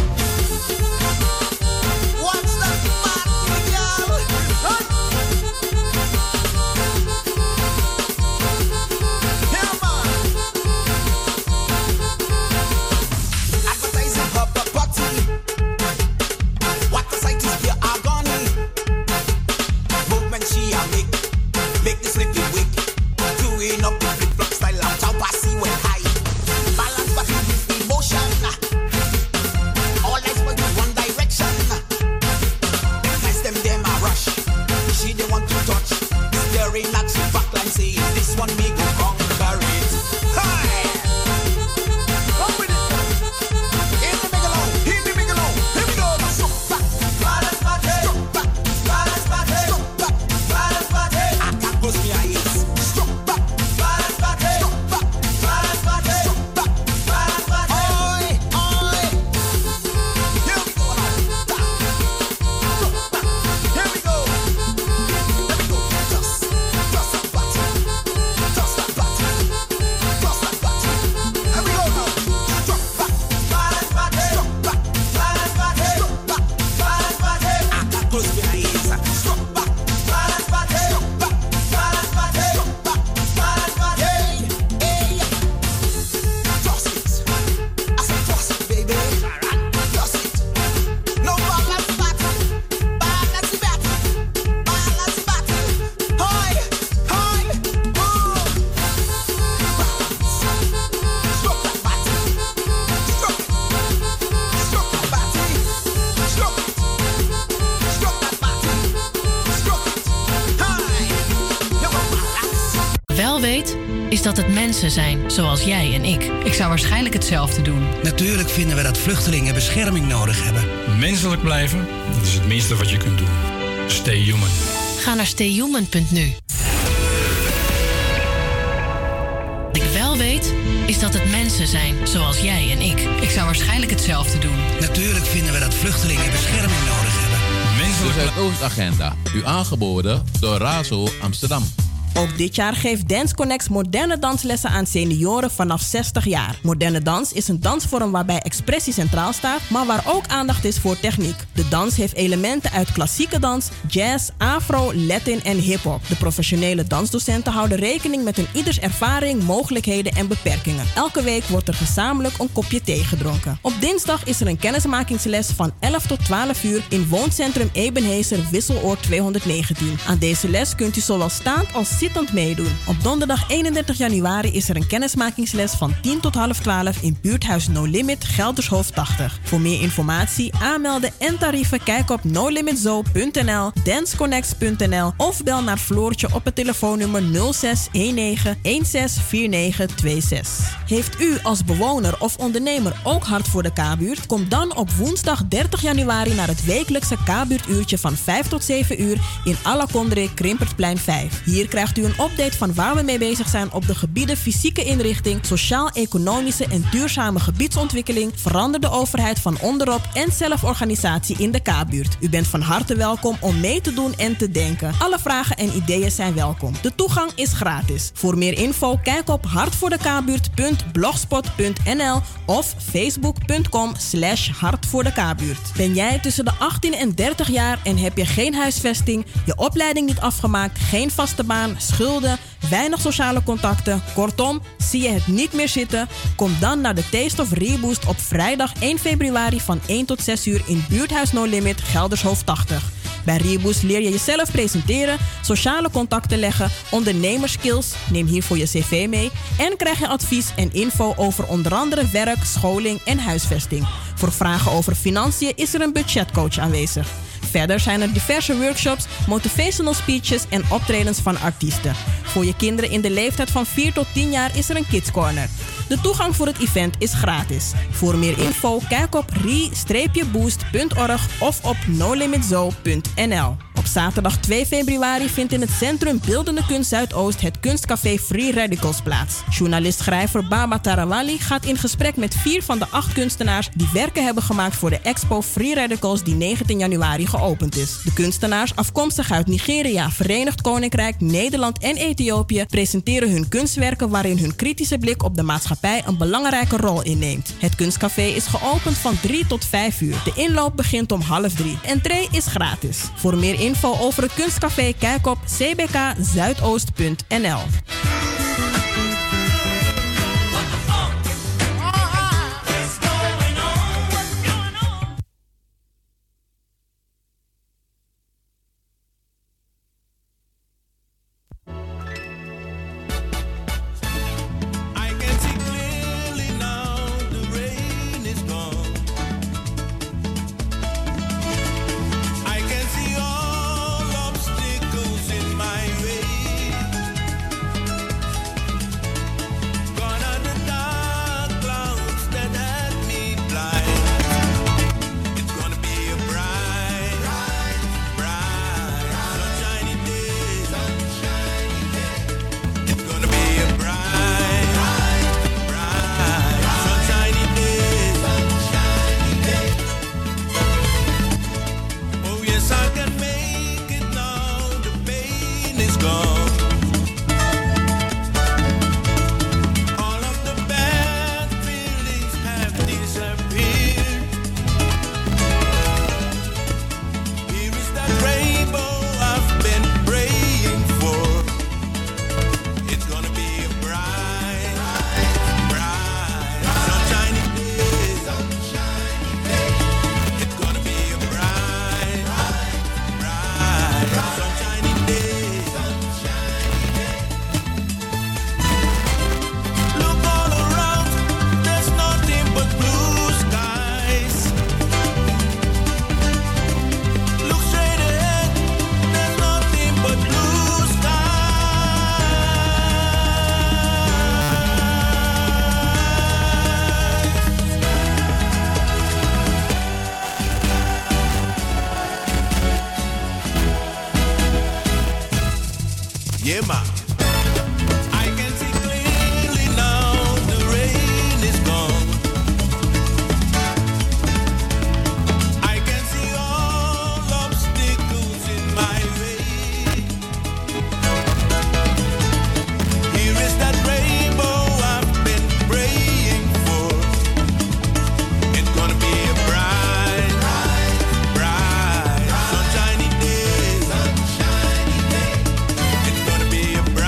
Speaker 14: Watch that party, girl. Run. Here, man. Advertising her property. What the sight is pure agony. Movement she a make, make the slippy wick. Doing up the flip flop style of top passy when high. Balance but with emotion. All eyes but in one direction. Nice them them a rush. She they want to touch. Staring at she backline saying this one me go conquer it. Hi. Come with it. In the megalo, in the megalo. Here we go. Struck back, balance party. Struck back, balance party. Struck back, balance party. I can't close my eyes. Struck back, balance party. Struck back, balance party. Struck back, balance party. Oi, oi. Here we go now. Struck back. Here we go. Here we go. Just, just that party. Just that party. Just that party. Here we go now. Struck back, balance party. Struck back, balance party. Struck back, balance party. I can't close my eyes. Struck back, balance party. Struck back, balance party. Struck back, balance party. Hey, hey. Toss it. I said toss it, baby. Toss it. No balance party. Balance party. Balance party. Hi, hi, oh. Balance. Struck that party. Struck it. Struck that party. Struck it. Struck that party. Struck it. Hi. You go balance.
Speaker 18: Wel weet, is dat het mensen zijn zoals jij en ik. Ik zou waarschijnlijk hetzelfde doen.
Speaker 19: Natuurlijk vinden we dat vluchtelingen bescherming nodig hebben.
Speaker 20: Menselijk blijven, dat is het minste wat je kunt doen. Stay human.
Speaker 18: Ga naar stay human punt nu. Wat ik wel weet, is dat het mensen zijn zoals jij en ik. Ik zou waarschijnlijk hetzelfde doen.
Speaker 19: Natuurlijk vinden we dat vluchtelingen bescherming nodig hebben.
Speaker 13: De Zuidoostagenda, u aangeboden door Razo Amsterdam.
Speaker 3: Ook dit jaar geeft Dance Connect moderne danslessen aan senioren vanaf zestig jaar. Moderne dans is een dansvorm waarbij expressie centraal staat, maar waar ook aandacht is voor techniek. De dans heeft elementen uit klassieke dans, jazz, afro, latin en hip-hop. De professionele dansdocenten houden rekening met een ieders ervaring, mogelijkheden en beperkingen. Elke week wordt er gezamenlijk een kopje thee gedronken. Op dinsdag is er een kennismakingsles van elf tot twaalf uur in wooncentrum Ebenhezer Wisseloord tweehonderdnegentien. Aan deze les kunt u zowel staand als zittend meedoen. Op donderdag eenendertig januari is er een kennismakingsles van tien tot half twaalf in buurthuis No Limit Geldershoofd tachtig. Voor meer informatie, aanmelden en tarieven kijk op no limit zoo punt n l, danceconnects punt n l of bel naar Floortje op het telefoonnummer nul zes een negen een zes vier negen twee zes. Heeft u als bewoner of ondernemer ook hart voor de K-buurt? Kom dan op woensdag dertig januari naar het wekelijkse K-buurtuurtje van vijf tot zeven uur in Alakondre Krimpertplein vijf. Hier krijgt u u een update van waar we mee bezig zijn op de gebieden fysieke inrichting, sociaal-economische en duurzame gebiedsontwikkeling, veranderde overheid van onderop en zelforganisatie in de K-buurt. U bent van harte welkom om mee te doen en te denken. Alle vragen en ideeën zijn welkom. De toegang is gratis. Voor meer info kijk op hartvoordekabuurt punt blogspot punt n l of facebook punt com slash hartvoordekabuurt. Ben jij tussen de achttien en dertig jaar en heb je geen huisvesting, je opleiding niet afgemaakt, geen vaste baan, schulden, weinig sociale contacten, kortom, zie je het niet meer zitten? Kom dan naar de Taste of Reboost op vrijdag één februari van één tot zes uur in Buurthuis No Limit, Geldershoofd tachtig. Bij Reboost leer je jezelf presenteren, sociale contacten leggen, ondernemerskills, neem hiervoor je cv mee en krijg je advies en info over onder andere werk, scholing en huisvesting. Voor vragen over financiën is er een budgetcoach aanwezig. Verder zijn er diverse workshops, motivational speeches en optredens van artiesten. Voor je kinderen in de leeftijd van vier tot tien jaar is er een Kids Corner. De toegang voor het event is gratis. Voor meer info kijk op re boost punt org of op no limit zoo punt n l. Op zaterdag twee februari vindt in het Centrum Beeldende Kunst Zuidoost het kunstcafé Free Radicals plaats. Journalist-schrijver Baba Tarawali gaat in gesprek met vier van de acht kunstenaars die werken hebben gemaakt voor de expo Free Radicals die negentien januari geopend is. De kunstenaars, afkomstig uit Nigeria, Verenigd Koninkrijk, Nederland en Ethiopië, presenteren hun kunstwerken waarin hun kritische blik op de maatschappij een belangrijke rol inneemt. Het kunstcafé is geopend van drie tot vijf uur. De inloop begint om half drie. Entree is gratis. Voor meer info over het kunstcafé kijk op c b k zuidoost punt n l.
Speaker 21: Yeah, ma. I can see clearly now the rain is gone. I can see all obstacles in my way. Here is that rainbow I've been praying for. It's gonna be a bright, bright, bright, sunshiny day. Sunshiny day. It's gonna be a bright,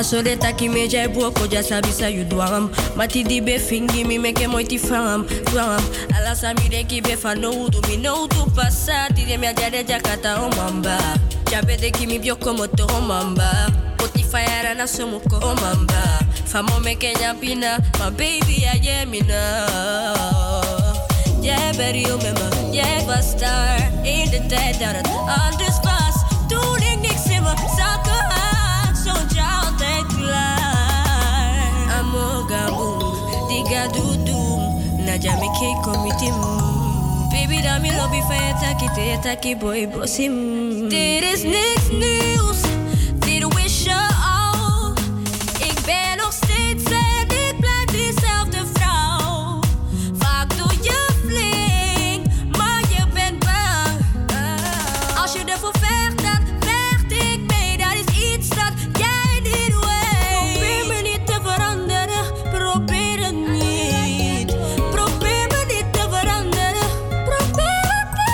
Speaker 1: So de taki me jai buoko ja sabi sa you dwam. Mati di be fingi mi meke moiti fram fram. Ala sa mi de ki be fa no do mi no to passati de mi ajade jakata o mamba. Jabe de ki mi bioko moto o mamba. Poti fire na somuko o mamba. Famo meke nyapina, my baby I am me now. Yeah, baby you remember, yeah, but star in the dead dat het anders was. Toen ik niks in mijn zakken had, zo'n jou altijd klaar. Amoga boom, diga doedoem, naja me ke komitim. Baby da mi lobby van je taki te je taki boy bosim. Dit is niks nieuws, dit wish je al. Ik ben nog steeds en ik blijf diezelfde vrouw. Vaak doe je flink, maar je bent bang. Als je ervoor vecht, dan vecht ik mee. Dat is iets dat jij niet weet. Probeer me niet te veranderen, probeer het niet. Probeer me niet te veranderen, probeer het niet.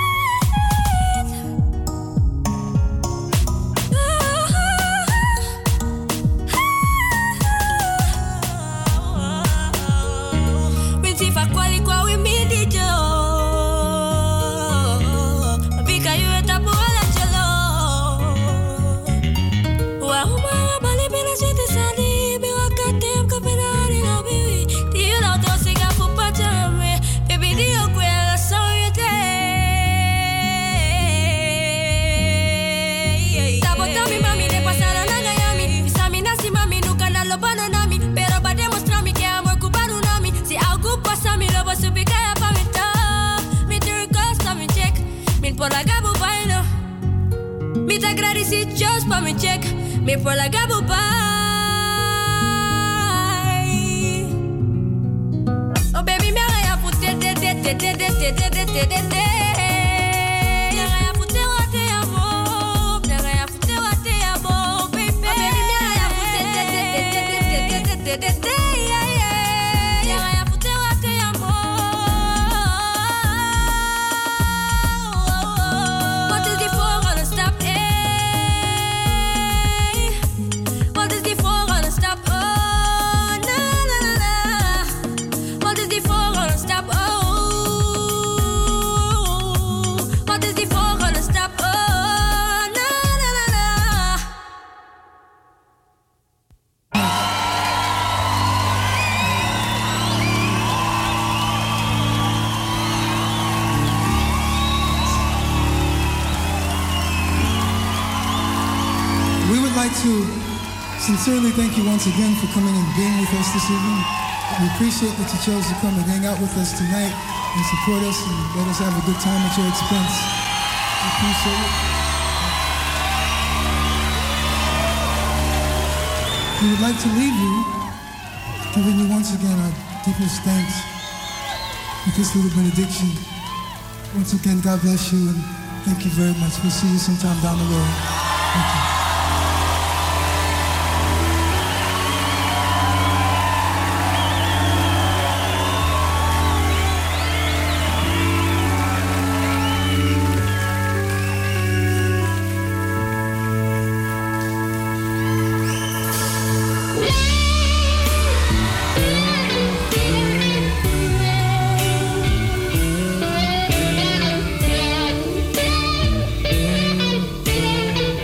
Speaker 1: Winti fa kwali kwa we mi di jo. Bika you eta po ala chelo. Wa huma bali bina jete sali be wa katem ka penari no bibi. Ti you la to siga fu pa chame. Baby di o kwe la so you day. Sabotami mami de pasara na gayami. Bisami nasi mami nuka na lobana nami. Pero ba demonstrami que amor cubano nami. Si algo pasa mi lobo subikaya pa mi top. Mi turcosta mi check. Min por la gabu baino. Mi ta gradisi just pa mi check. Mi por la gabu bai. Oh baby me agaya putte de de de de de de de de de de de. Me agaya putte wa te amo. Me agaya putte wa te amo, baby. Oh baby me agaya putte de de de de de de de de de. Yeah, yeah. Me agaya putte wa te amo. Wat is die volgende stap? Eh? Wat is die volgende stap? Oh, na na na na. Wat is die volgende stap? Oh, wat is die volgende stap? Oh, na na na na.
Speaker 22: We would like to sincerely thank you once again for coming and being with us this evening. We appreciate that you chose to come and hang out with us tonight and support us and let us have a good time at your expense. We appreciate it. We would like to leave you giving you once again our deepest thanks with this little benediction. Once again, God bless you and thank you very much. We'll see you sometime down the road. Thank you.
Speaker 12: Thank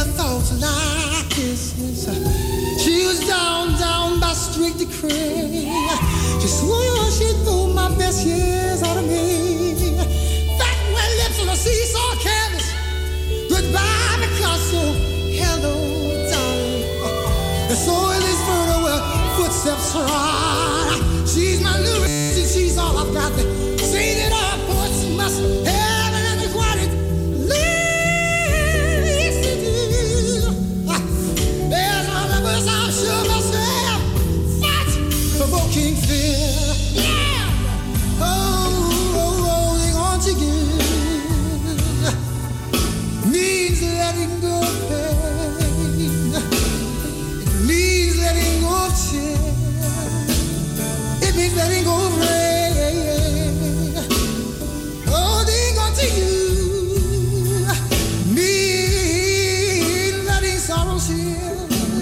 Speaker 22: never thought like this. She was down, down by strict decree. She swore she'd pull my best years out of me. Fat wet lips on a seesaw canvas. Goodbye, Picasso. Hello, darling. And so in this murder where footsteps run. She's my new and she's all I've got. Seen it all, poets must have and required. Yes, it is. There's my numbers, I'm sure myself. Fight, provoking fear. Yeah. Oh, oh, holding on to you means letting go of pain. It means letting go of tears. It means letting go of rain. Holding on to you means letting sorrows heal.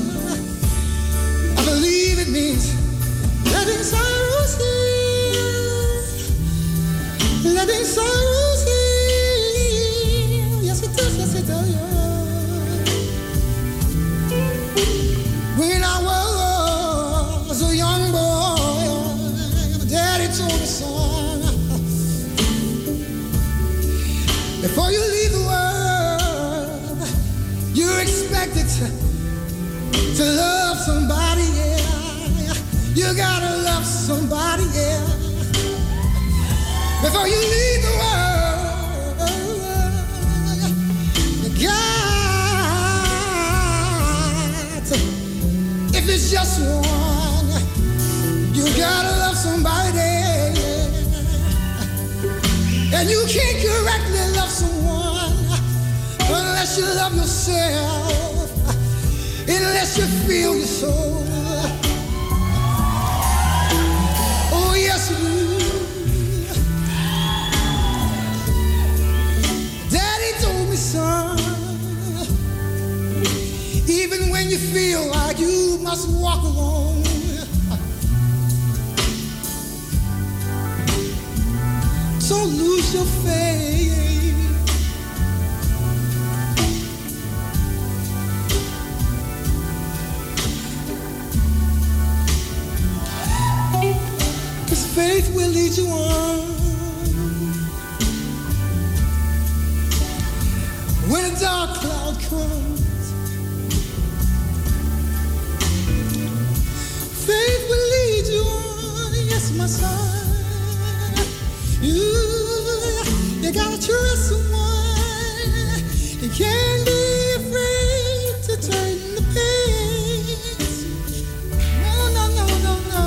Speaker 22: I believe it means letting sorrows heal. Letting sorrows heal. Yes, it does, yes, it does, yeah. When I was a young boy, my daddy told me, son, before you leave the world, you're expected to, to love somebody, yeah. You gotta love somebody, yeah. Before you leave the world, you got to, if it's just one, you gotta love somebody, yeah. And you can't correctly love someone unless you love yourself, unless you feel your soul. Oh, yes, you do. Daddy told me, son, even when you feel like you must walk alone, don't lose your faith. 'Cause faith will lead you on. When a dark cloud comes, faith will lead you on. Yes, my son. You, you gotta trust someone. You can't be afraid to turn the page. No, no, no, no, no.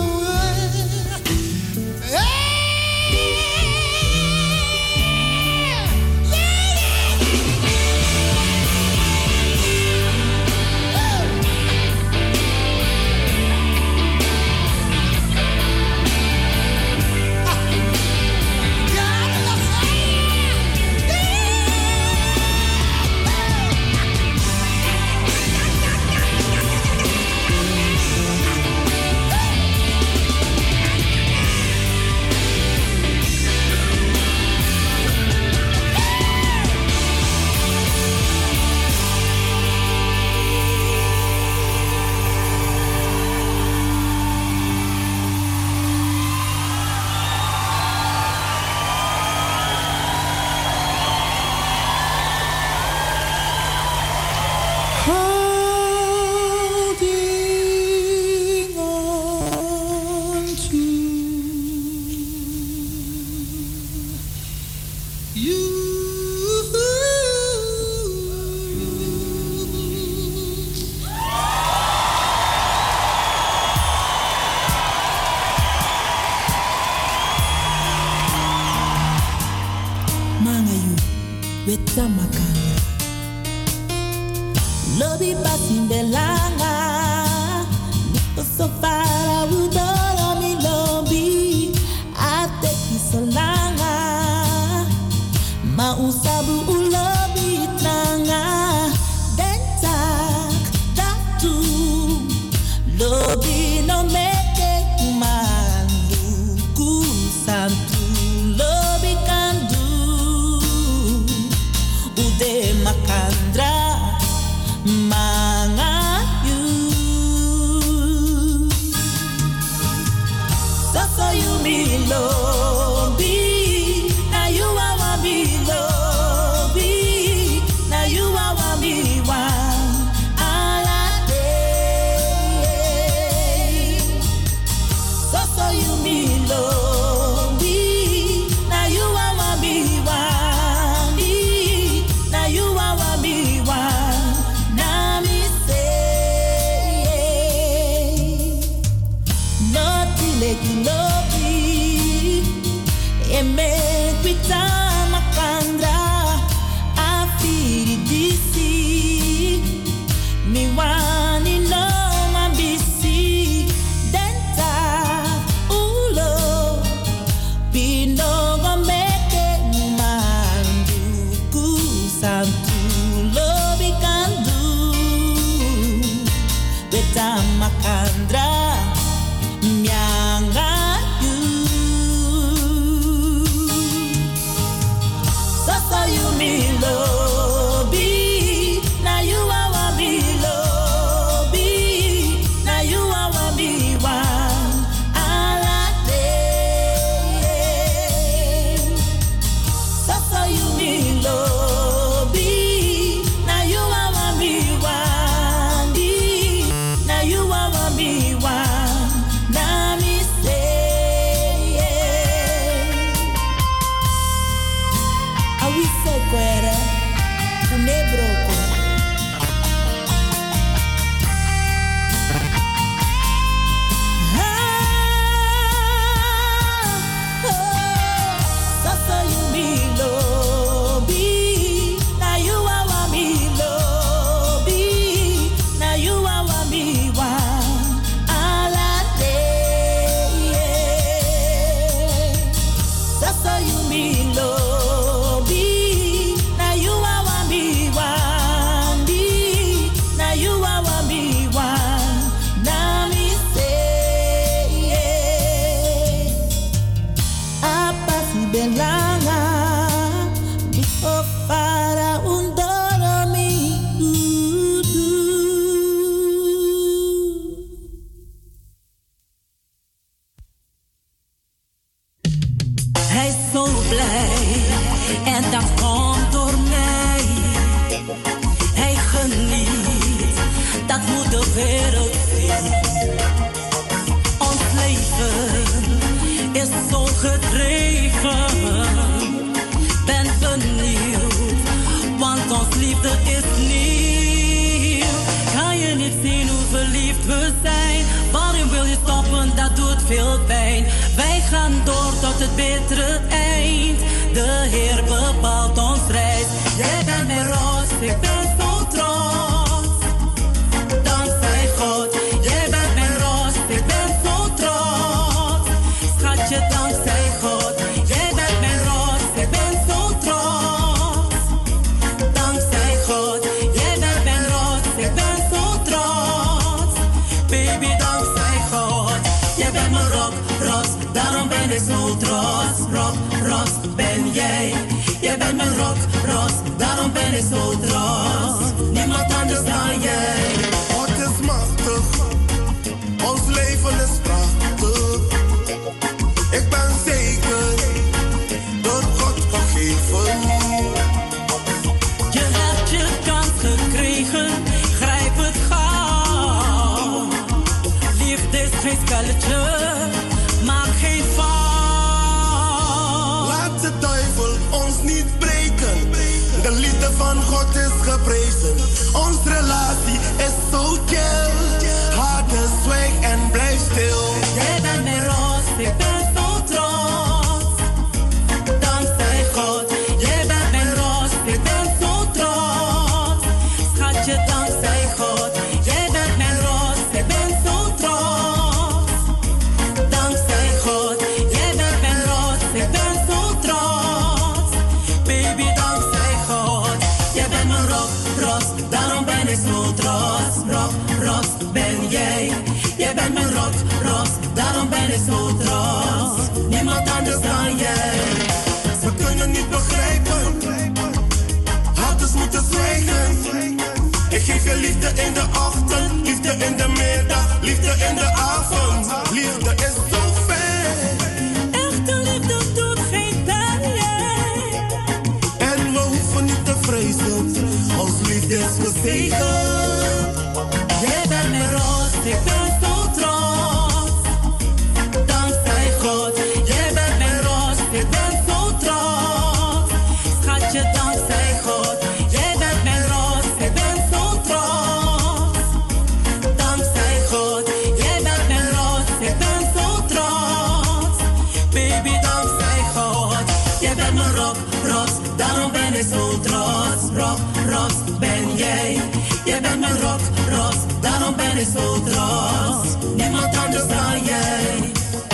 Speaker 11: Wetamakana Lobi basimbelanga Niko sofara udoro mi lobi Ate kisolanga Mausabu ulobi tranga Dentak datu Lobi no meke kumandu Kusantu lobi kandu Ude makandra lobby. Now you are want me lobby. Now you are want me one. All a day. So so you me lobby. Now you are want me one. Now you are want me one. Now me say nothing like you lobby. E me quita makandra afiri disi mi wani no mambisi denta ulo pino gomeke mandu kusantu lobi kandu beta makandra mianga so you me lobby. Now you are want me lobby. Now you are want me one. All a day. So so you me lobby. Now you are want me one. Now you are want me one. Now me say I will say kwere kunebroko Sasa you me lobby. Now you are want me lobby. Now you are want me one. All a day. Sasa you me lobby. Now you are want me one. Now you are want me one. Now me say apa si belanga mi para un dormi. Hij is zo blij en dat komt door mij. Hij geniet, dat moet de wereld zien. Ons leven is zo gedreven. Ben benieuwd, want ons liefde is nieuw. Kan je niet zien hoe verliefd we zijn? Waarom wil je stoppen? Dat doet veel pijn. Wij gaan door tot het betere eind. De Heer bepaalt ons reis. Jij bent mijn roos, ik ben zo trots. Dankzij God. Jij bent mijn roos, ik ben zo trots. Schatje, dankzij God. Jij bent mijn roos, ik ben zo trots. Dankzij God. Jij bent mijn roos, ik ben zo trots. Baby, dankzij God. Jij bent mijn rock, ros, daarom ben ik zo trots. Rock, ros, ben jij. Jij bent mijn rock, ros, daarom ben ik zo trots. Niemand anders dan jij.
Speaker 6: God is machtig, ons leven is prachtig. Ik ben zeker, door God gegeven.
Speaker 11: Je hebt je kans gekregen, grijp het gauw. Liefde is geen spelletje, maak geen fout.
Speaker 6: Laat de duivel ons niet breken. De liefde van God is geprezen. Onze relatie is zo chill. Harten zwijg en blijf stil.
Speaker 11: Jij bent mijn roos, ik ben zo trots. Dankzij God. Jij bent mijn roos, ik ben zo trots. Schatje, dankzij God. Jij bent mijn roos, ik ben zo trots. Dankzij God. Jij bent mijn roos, ik ben zo trots. Baby, dankzij God. Jij bent mijn rock, ros, daarom ben ik zo trots. Rock, ros, ben jij. Jij bent mijn rock, ros, daarom ben ik zo trots. Niemand anders dan jij.
Speaker 6: Ze kunnen niet begrijpen. Hadden moeten zwijgen. Ik geef je liefde in de ochtend, liefde in de middag, liefde in de avond. Liefde is zo fijn.
Speaker 11: Echt is gezegend. Jij bent mijn roos, ik ben zo trots. Dankzij God, jij bent mijn roos, ik ben zo trots. Schatje, dankzij God, jij bent mijn roos, ik ben zo trots. Dankzij God, jij bent mijn roos, ik ben zo trots. Baby, dankzij God, jij bent mijn rock, roos, daarom ben ik zo trots. Rock, roos, ben jij. Jij bent mijn rock, roos, daarom ben ik zo trots. Niemand anders dan jij.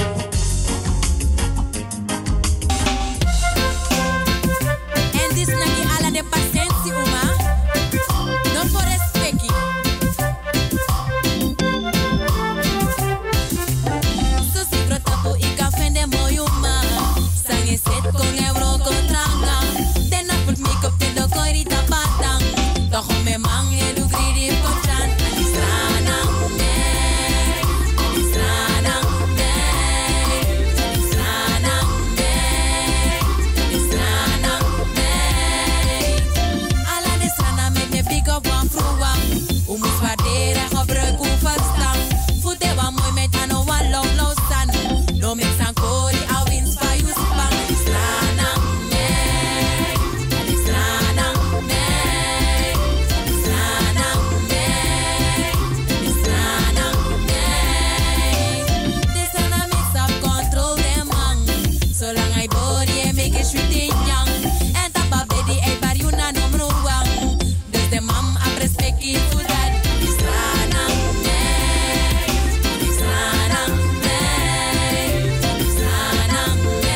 Speaker 4: En dit is niet alla de paciëntie, oma. Non voor respecti. So si protapo i café de moyuma. Sangue set con euro contranga. Tena put make up te do corita patang. Toch me man e lu gridi potran. Adistrana me. Adistrana me. Adistrana me. Adistrana me. Alla de strana met me big up one vroeg. U moet waarderen, gebruik u verstaan. Voete wa mooi met ano wa long low san. No mix and kori, a wins for you spang. Adistrana me. Adistrana me. Adistrana me. Adistrana me. This and a mix up control them man. Zolang I body and make it sweet in young. En tapa baby, I bar you na no mruwang. Dus de mam ap respect you for that. Adistrana me. Adistrana me. Adistrana me.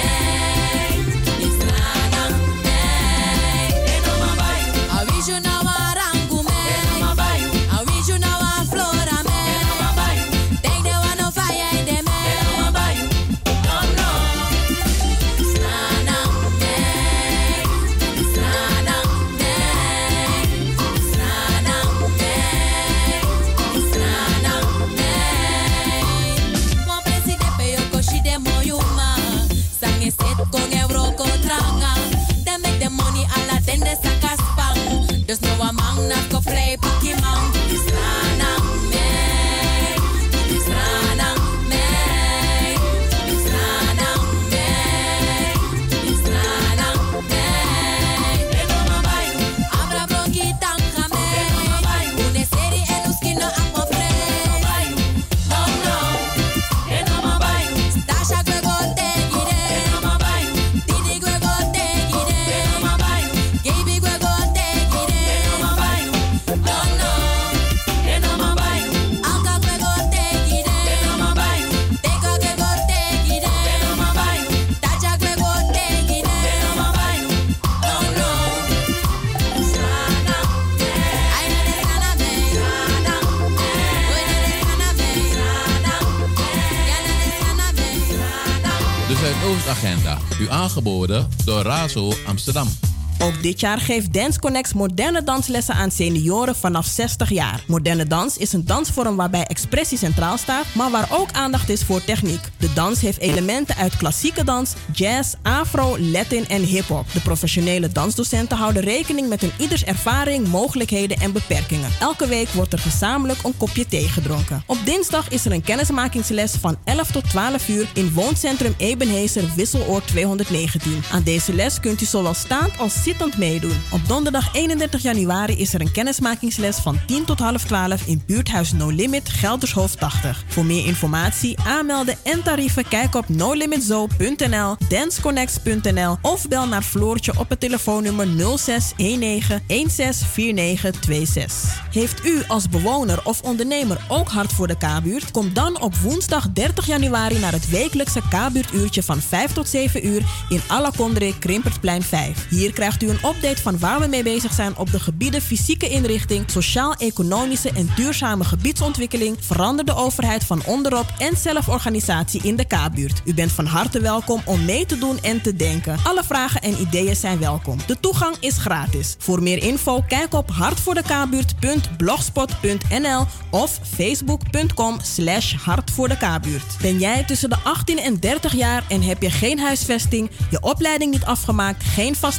Speaker 4: Adistrana me. Eno mabayu. I wish you now a rangu me. Eno mabayu. I wish you now a flora me. Eno mabayu. Take the one of fire in the me. Eno mabayu. No no. Adistrana me. Adistrana me. Adistrana me. Adistrana me. Mon presidente peyo koshi de moyuma. Sange set con euro contranga. They make the money alla tende sakaspang. Dus no a man na ko play piki man. Adistrana me. Adistrana me. Adistrana me. Adistrana me. Eno mabayu. Abra bronquita me. Eno mabayu. Une serie en uskino apo pre. Eno mabayu. No no. Eno mabayu. Stasha gwego te gire. Eno mabayu. Didi gwego te gire. Eno mabayu. Gaby gwego te gire. Eno mabayu. No no. Eno mabayu. Anka gwego te gire. Eno mabayu. Teka gwego te gire. Eno mabayu. Tacha gwego te gire. Eno mabayu. No no. Sana me. Ay na de sana me. Sana me. Oy na de sana me. Sana me. Ja na de sana me. Sana me.
Speaker 13: De Zuidoostagenda. U aangeboden door Razo Amsterdam.
Speaker 3: Ook dit jaar geeft Dance Connects moderne danslessen aan senioren vanaf zestig jaar. Moderne dans is een dansvorm waarbij expressie centraal staat, maar waar ook aandacht is voor techniek. De dans heeft elementen uit klassieke dans, jazz, afro, latin en hip-hop. De professionele dansdocenten houden rekening met een ieders ervaring, mogelijkheden en beperkingen. Elke week wordt er gezamenlijk een kopje thee gedronken. Op dinsdag is er een kennismakingsles van elf tot twaalf uur in wooncentrum Ebenhezer Wisseloord tweehonderdnegentien. Aan deze les kunt u zowel staand als zittend meedoen. Op donderdag eenendertig januari is er een kennismakingsles van tien tot half twaalf in buurthuis No Limit Geldershoofd tachtig. Voor meer informatie, aanmelden en tarieven kijk op no limit zoo punt n l, danceconnects punt n l of bel naar Floortje op het telefoonnummer nul zes een negen een zes vier negen twee zes. Heeft u als bewoner of ondernemer ook hart voor de K-buurt? Kom dan op woensdag dertig januari naar het wekelijkse K-buurtuurtje van vijf tot zeven uur in Alakondre Krimpertplein vijf. Hier krijgt u een update van waar we mee bezig zijn op de gebieden fysieke inrichting, sociaal-economische en duurzame gebiedsontwikkeling, veranderde overheid van onderop en zelforganisatie in de K-buurt. U bent van harte welkom om mee te doen en te denken. Alle vragen en ideeën zijn welkom. De toegang is gratis. Voor meer info kijk op hartvoordekabuurt punt blogspot punt n l of facebook punt com slash hartvoordekabuurt. Ben jij tussen de achttien en dertig jaar en heb je geen huisvesting, je opleiding niet afgemaakt, geen vaste baan,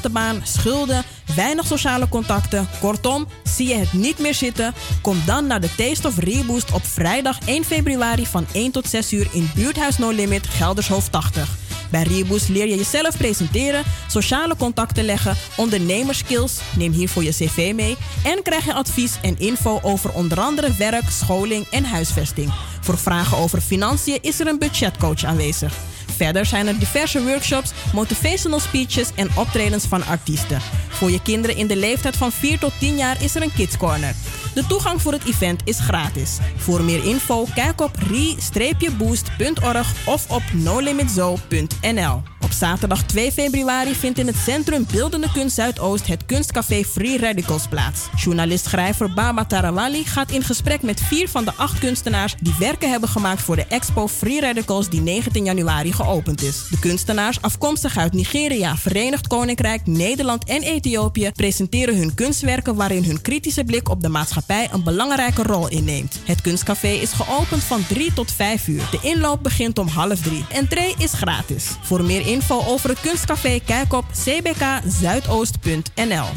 Speaker 3: schulden, weinig sociale contacten. Kortom, zie je het niet meer zitten? Kom dan naar de Taste of Reboost op vrijdag één februari van één tot zes uur in Buurthuis No Limit, Geldershoofd tachtig. Bij Reboost leer je jezelf presenteren, sociale contacten leggen, ondernemerskills, neem hiervoor je cv mee en krijg je advies en info over onder andere werk, scholing en huisvesting. Voor vragen over financiën is er een budgetcoach aanwezig. Verder zijn er diverse workshops, motivational speeches en optredens van artiesten. Voor je kinderen in de leeftijd van vier tot tien jaar is er een Kids Corner. De toegang voor het event is gratis. Voor meer info kijk op re boost punt org of op no limit zoo punt n l. Op zaterdag twee februari vindt in het Centrum Beeldende Kunst Zuidoost het kunstcafé Free Radicals plaats. Journalist-schrijver Baba Tarawali gaat in gesprek met vier van de acht kunstenaars die werken hebben gemaakt voor de expo Free Radicals die negentien januari geopend is. De kunstenaars, afkomstig uit Nigeria, Verenigd Koninkrijk, Nederland en Ethiopië, presenteren hun kunstwerken waarin hun kritische blik op de maatschappij een belangrijke rol inneemt. Het kunstcafé is geopend van drie tot vijf uur. De inloop begint om half drie. Entree is gratis. Voor meer info over het kunstcafé kijk op c b k zuidoost punt n l.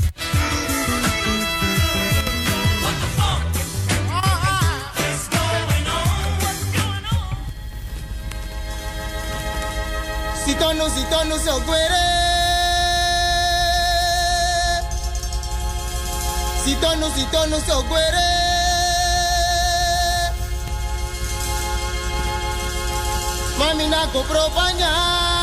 Speaker 5: Sitonu, sitonu, so guere. Sitonu, sitonu, so guere. Mami na ko propanya.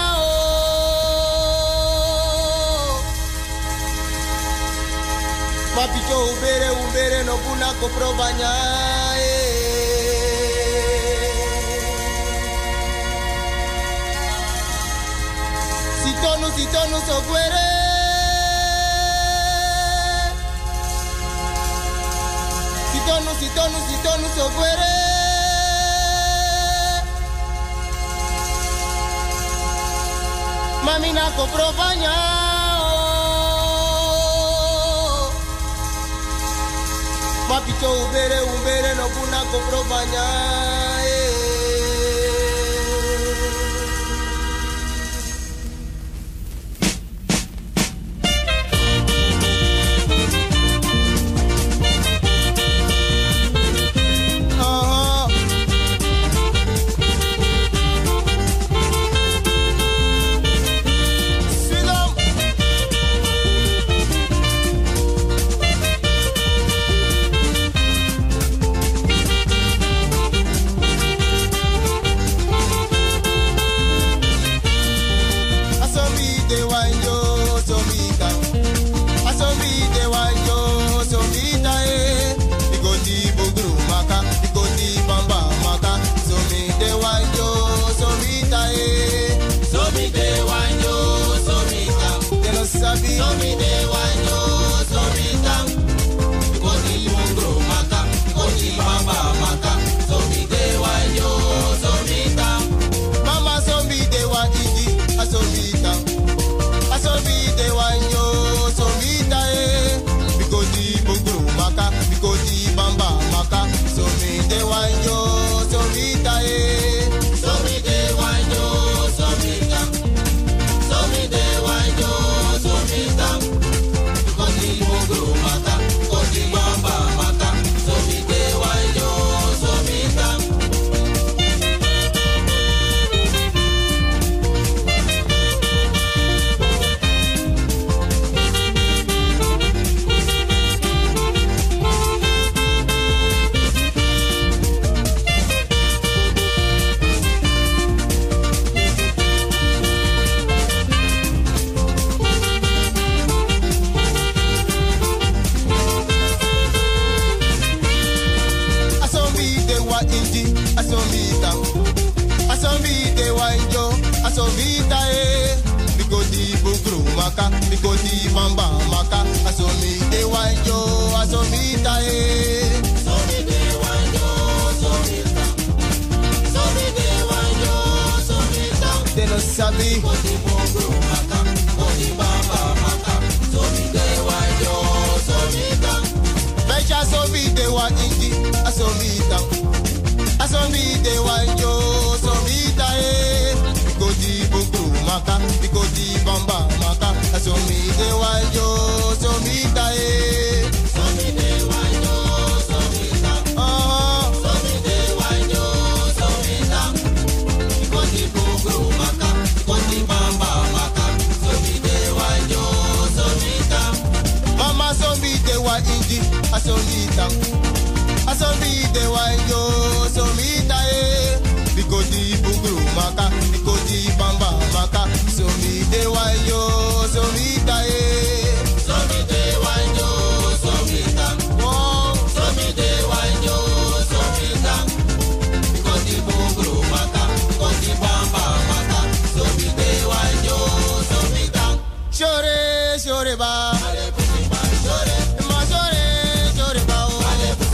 Speaker 5: Papi cho ubere ubere no puna ko propanya. Sitonu, sitonu, so guere. Sitonu, sitonu, sitonu, so guere. Mami na ko propanya. Papi cho ubere ubere no puna ko propanya. so mi de wanjo, so mi ta e. So mi de wanjo, so mi ta. Oh, so mi de wanjo, so mi ta. Koti bugru maka, koti bamba maka, so mi de wanjo, so mi ta. Mama so mi de wa inji, a so mi ta. A so mi de wanjo, so mi ta e. Bikoti bugru maka, bikoti bamba maka, so mi de wanjo, so mi ta e. So mi de wanjo, so mi ta. Oh, so mi de wanjo, so mi ta. Bikoti bugru maka, bikoti bamba maka, so mi de wanjo, so mi ta. Shore, shore ba, ma shore, shore ba o.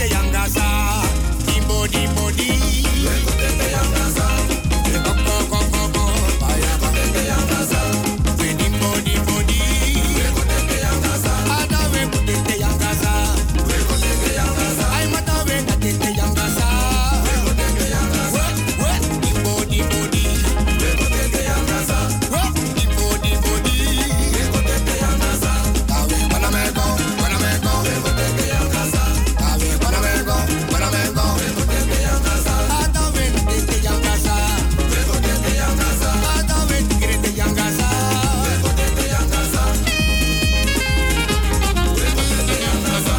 Speaker 5: te yangasa. Dimbo, dimbo, di. Weko te te yangasa. Koko, koko, koko. Weko te te yangasa. Dimbo, dimbo, di. Weko te te yangasa. Ada weko te te yangasa. Weko te te yangasa. Ay mata weko te te yangasa. Weko te te yangasa. We, we, dimbo, dimbo, di. Weko te te yangasa. We, dimbo, dimbo, di. Weko te te yangasa. Tawe, panamego, panamego. Weko te te yangasa. Tawe, panamego, panamego. Weko te te yangasa. Ada weko te te yangasa. Weko te te yangasa. Ada weko te te yangasa. Weko te te yangasa. Weko te te yangasa.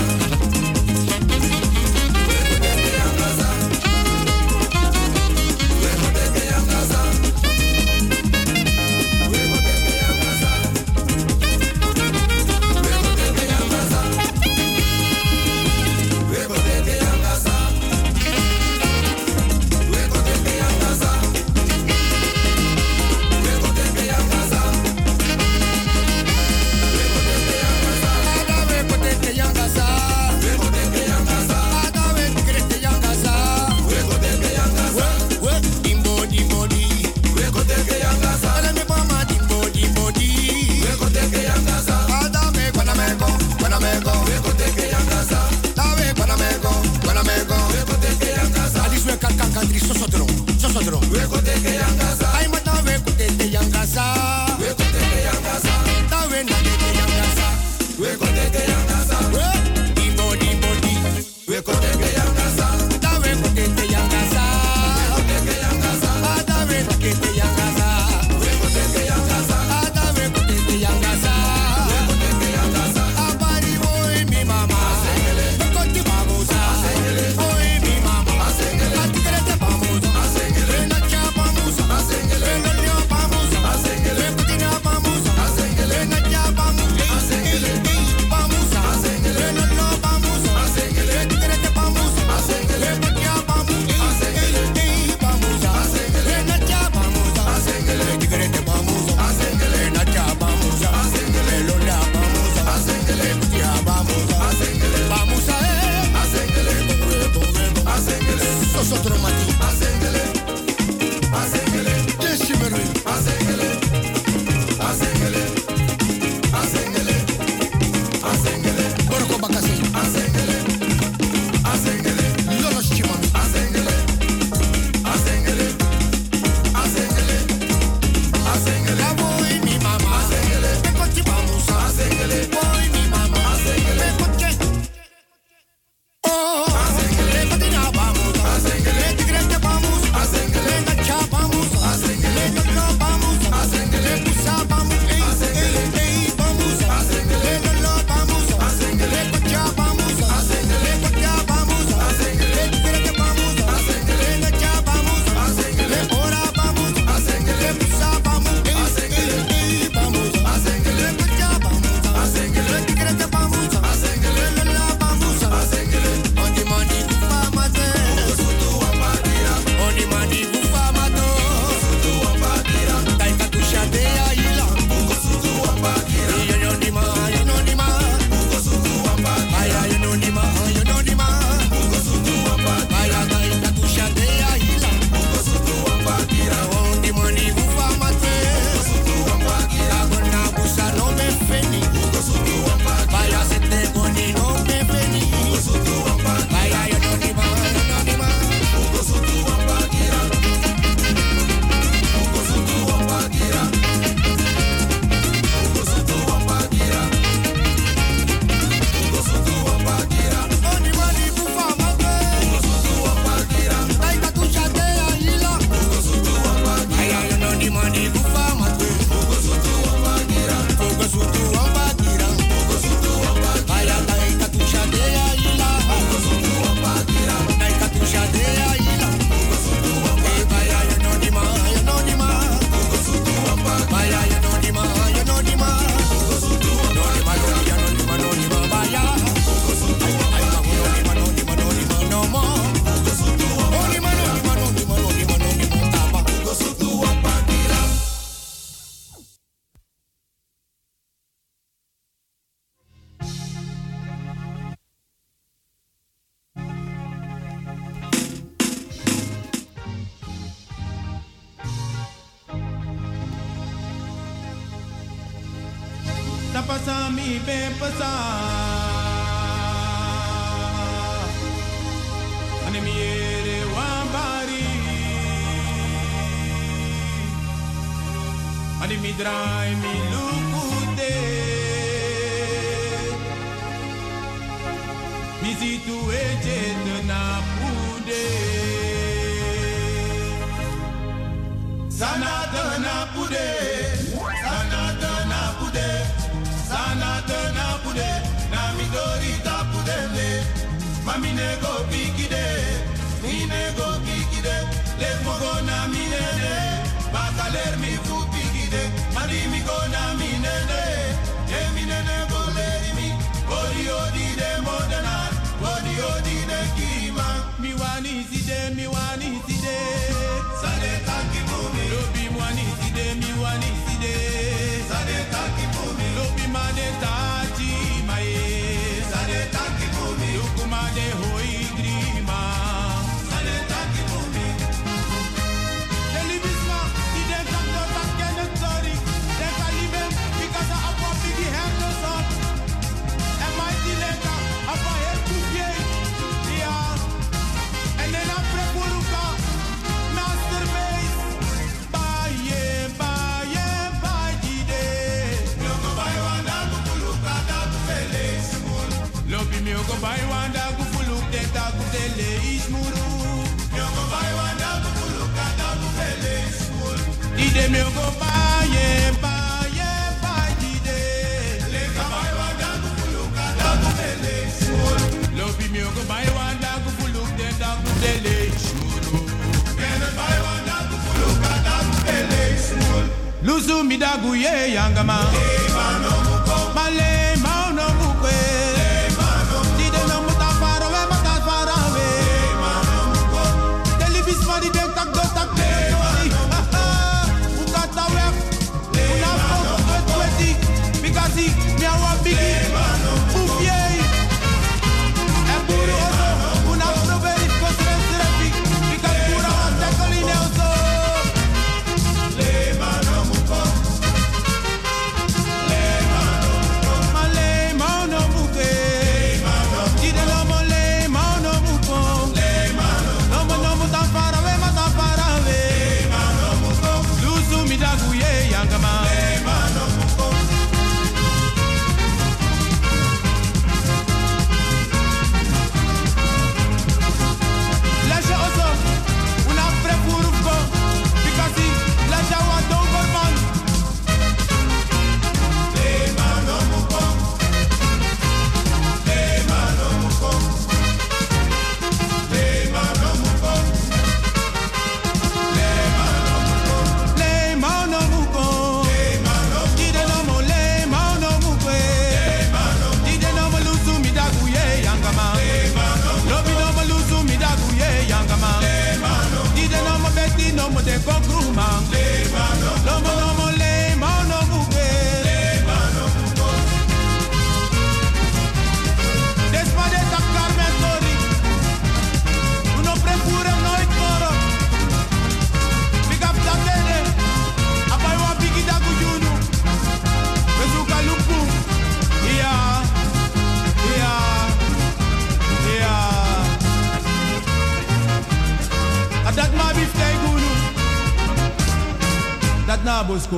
Speaker 5: Vamos,
Speaker 21: pasa mi be pasa. Ane mi ere wambari. Ane mi drai mi lukute. Mi situ eje na pude. Sana na pude. Sana na pude. Sana na pude. Na mi dorita pudele. Mami nego bigide. Mi nego bigide. Le mogo na mi nene. Bakaler mi fu bigide. Mari mi go na mi nene. E mi nene go leri mi. Odi odi de modena. Odi odi de kima. Mi wani si de mi wani si de. Sade taki bumi. Lobi wani si de mi wani si de. Sade taki bumi. Lobi mane tachi mae. Sade taki bumi. Lukuma de hoi grima. Sade taki bumi. Telebisma, die denkt dat dat dat kennen sorry. Denk aan lieve, because I have a big hand or son. En mij die lekker, af een heel koekje. Ja. En dan een preporuka, masterpiece. Baie, baie, baie day. Logo bai wanda kufuluka da kufele ismuru. Lobi mi ogo bai wanda kufuluka da kufele ismuru. Logo bai wanda kufuluka da kufele ismuru. Ide mi ogo baie, baie, baie day. Lega bai wanda kufuluka da kufele ismuru. Lobi mi ogo bai wanda kufuluka da kufele ismuru. Kene bai wanda kufuluka da kufele ismuru. Luzu mi da guye yangama. Male mauno mukwe. Dide no muta faro we mata faro we. Telebisma di dek tak do tak de. Ukata we. Una foto kwet kweti. Bigasi mi awa bigi. Ufye. E buru oso. Una strawberry kosren srepi. Bikas pura wa tekoline oso. Le mano muko. Male mauno muke. Dide no mo le mauno muko. No mo no mo tan fara we ma tan fara we. Luzu mi da guye yangama. Lascia oso, una prepurufko. Bikasi, lascia wa dongorman. Le mano muko. Le mano muko. Le mano muko. Le mano muko. Le mano muko. Dide no mo le mano muko. Dide no mo lusu mi da guye yangama. Lobi no mo lusu mi da guye yangama. Dide no mo beti no mo de kokruma. Lobo no mo le mano muko. Despade tak karmen tori. Uno prepura nooit moro. Big up da bene. Apai wa bigi da gujunu. Bezuka lupu. Ja. Ja. Ja. Adat ma biftei gunu. Dat na bosko.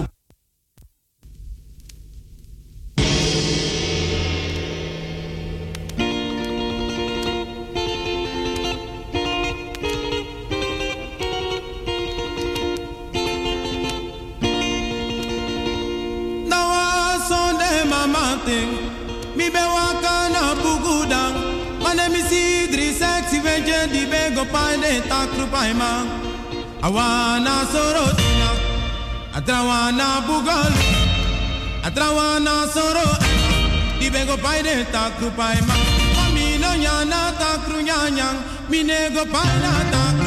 Speaker 21: Nawa sonde mamante. Mi be waka na bugudang. Mane mi sidri sexy venje di bego paide takru paima. Awana sorotina. Atrawana bugal. Atrawana soro. Di bego paide takru paima. Mami no nyana takru nyanyang. Mi nego paina takru.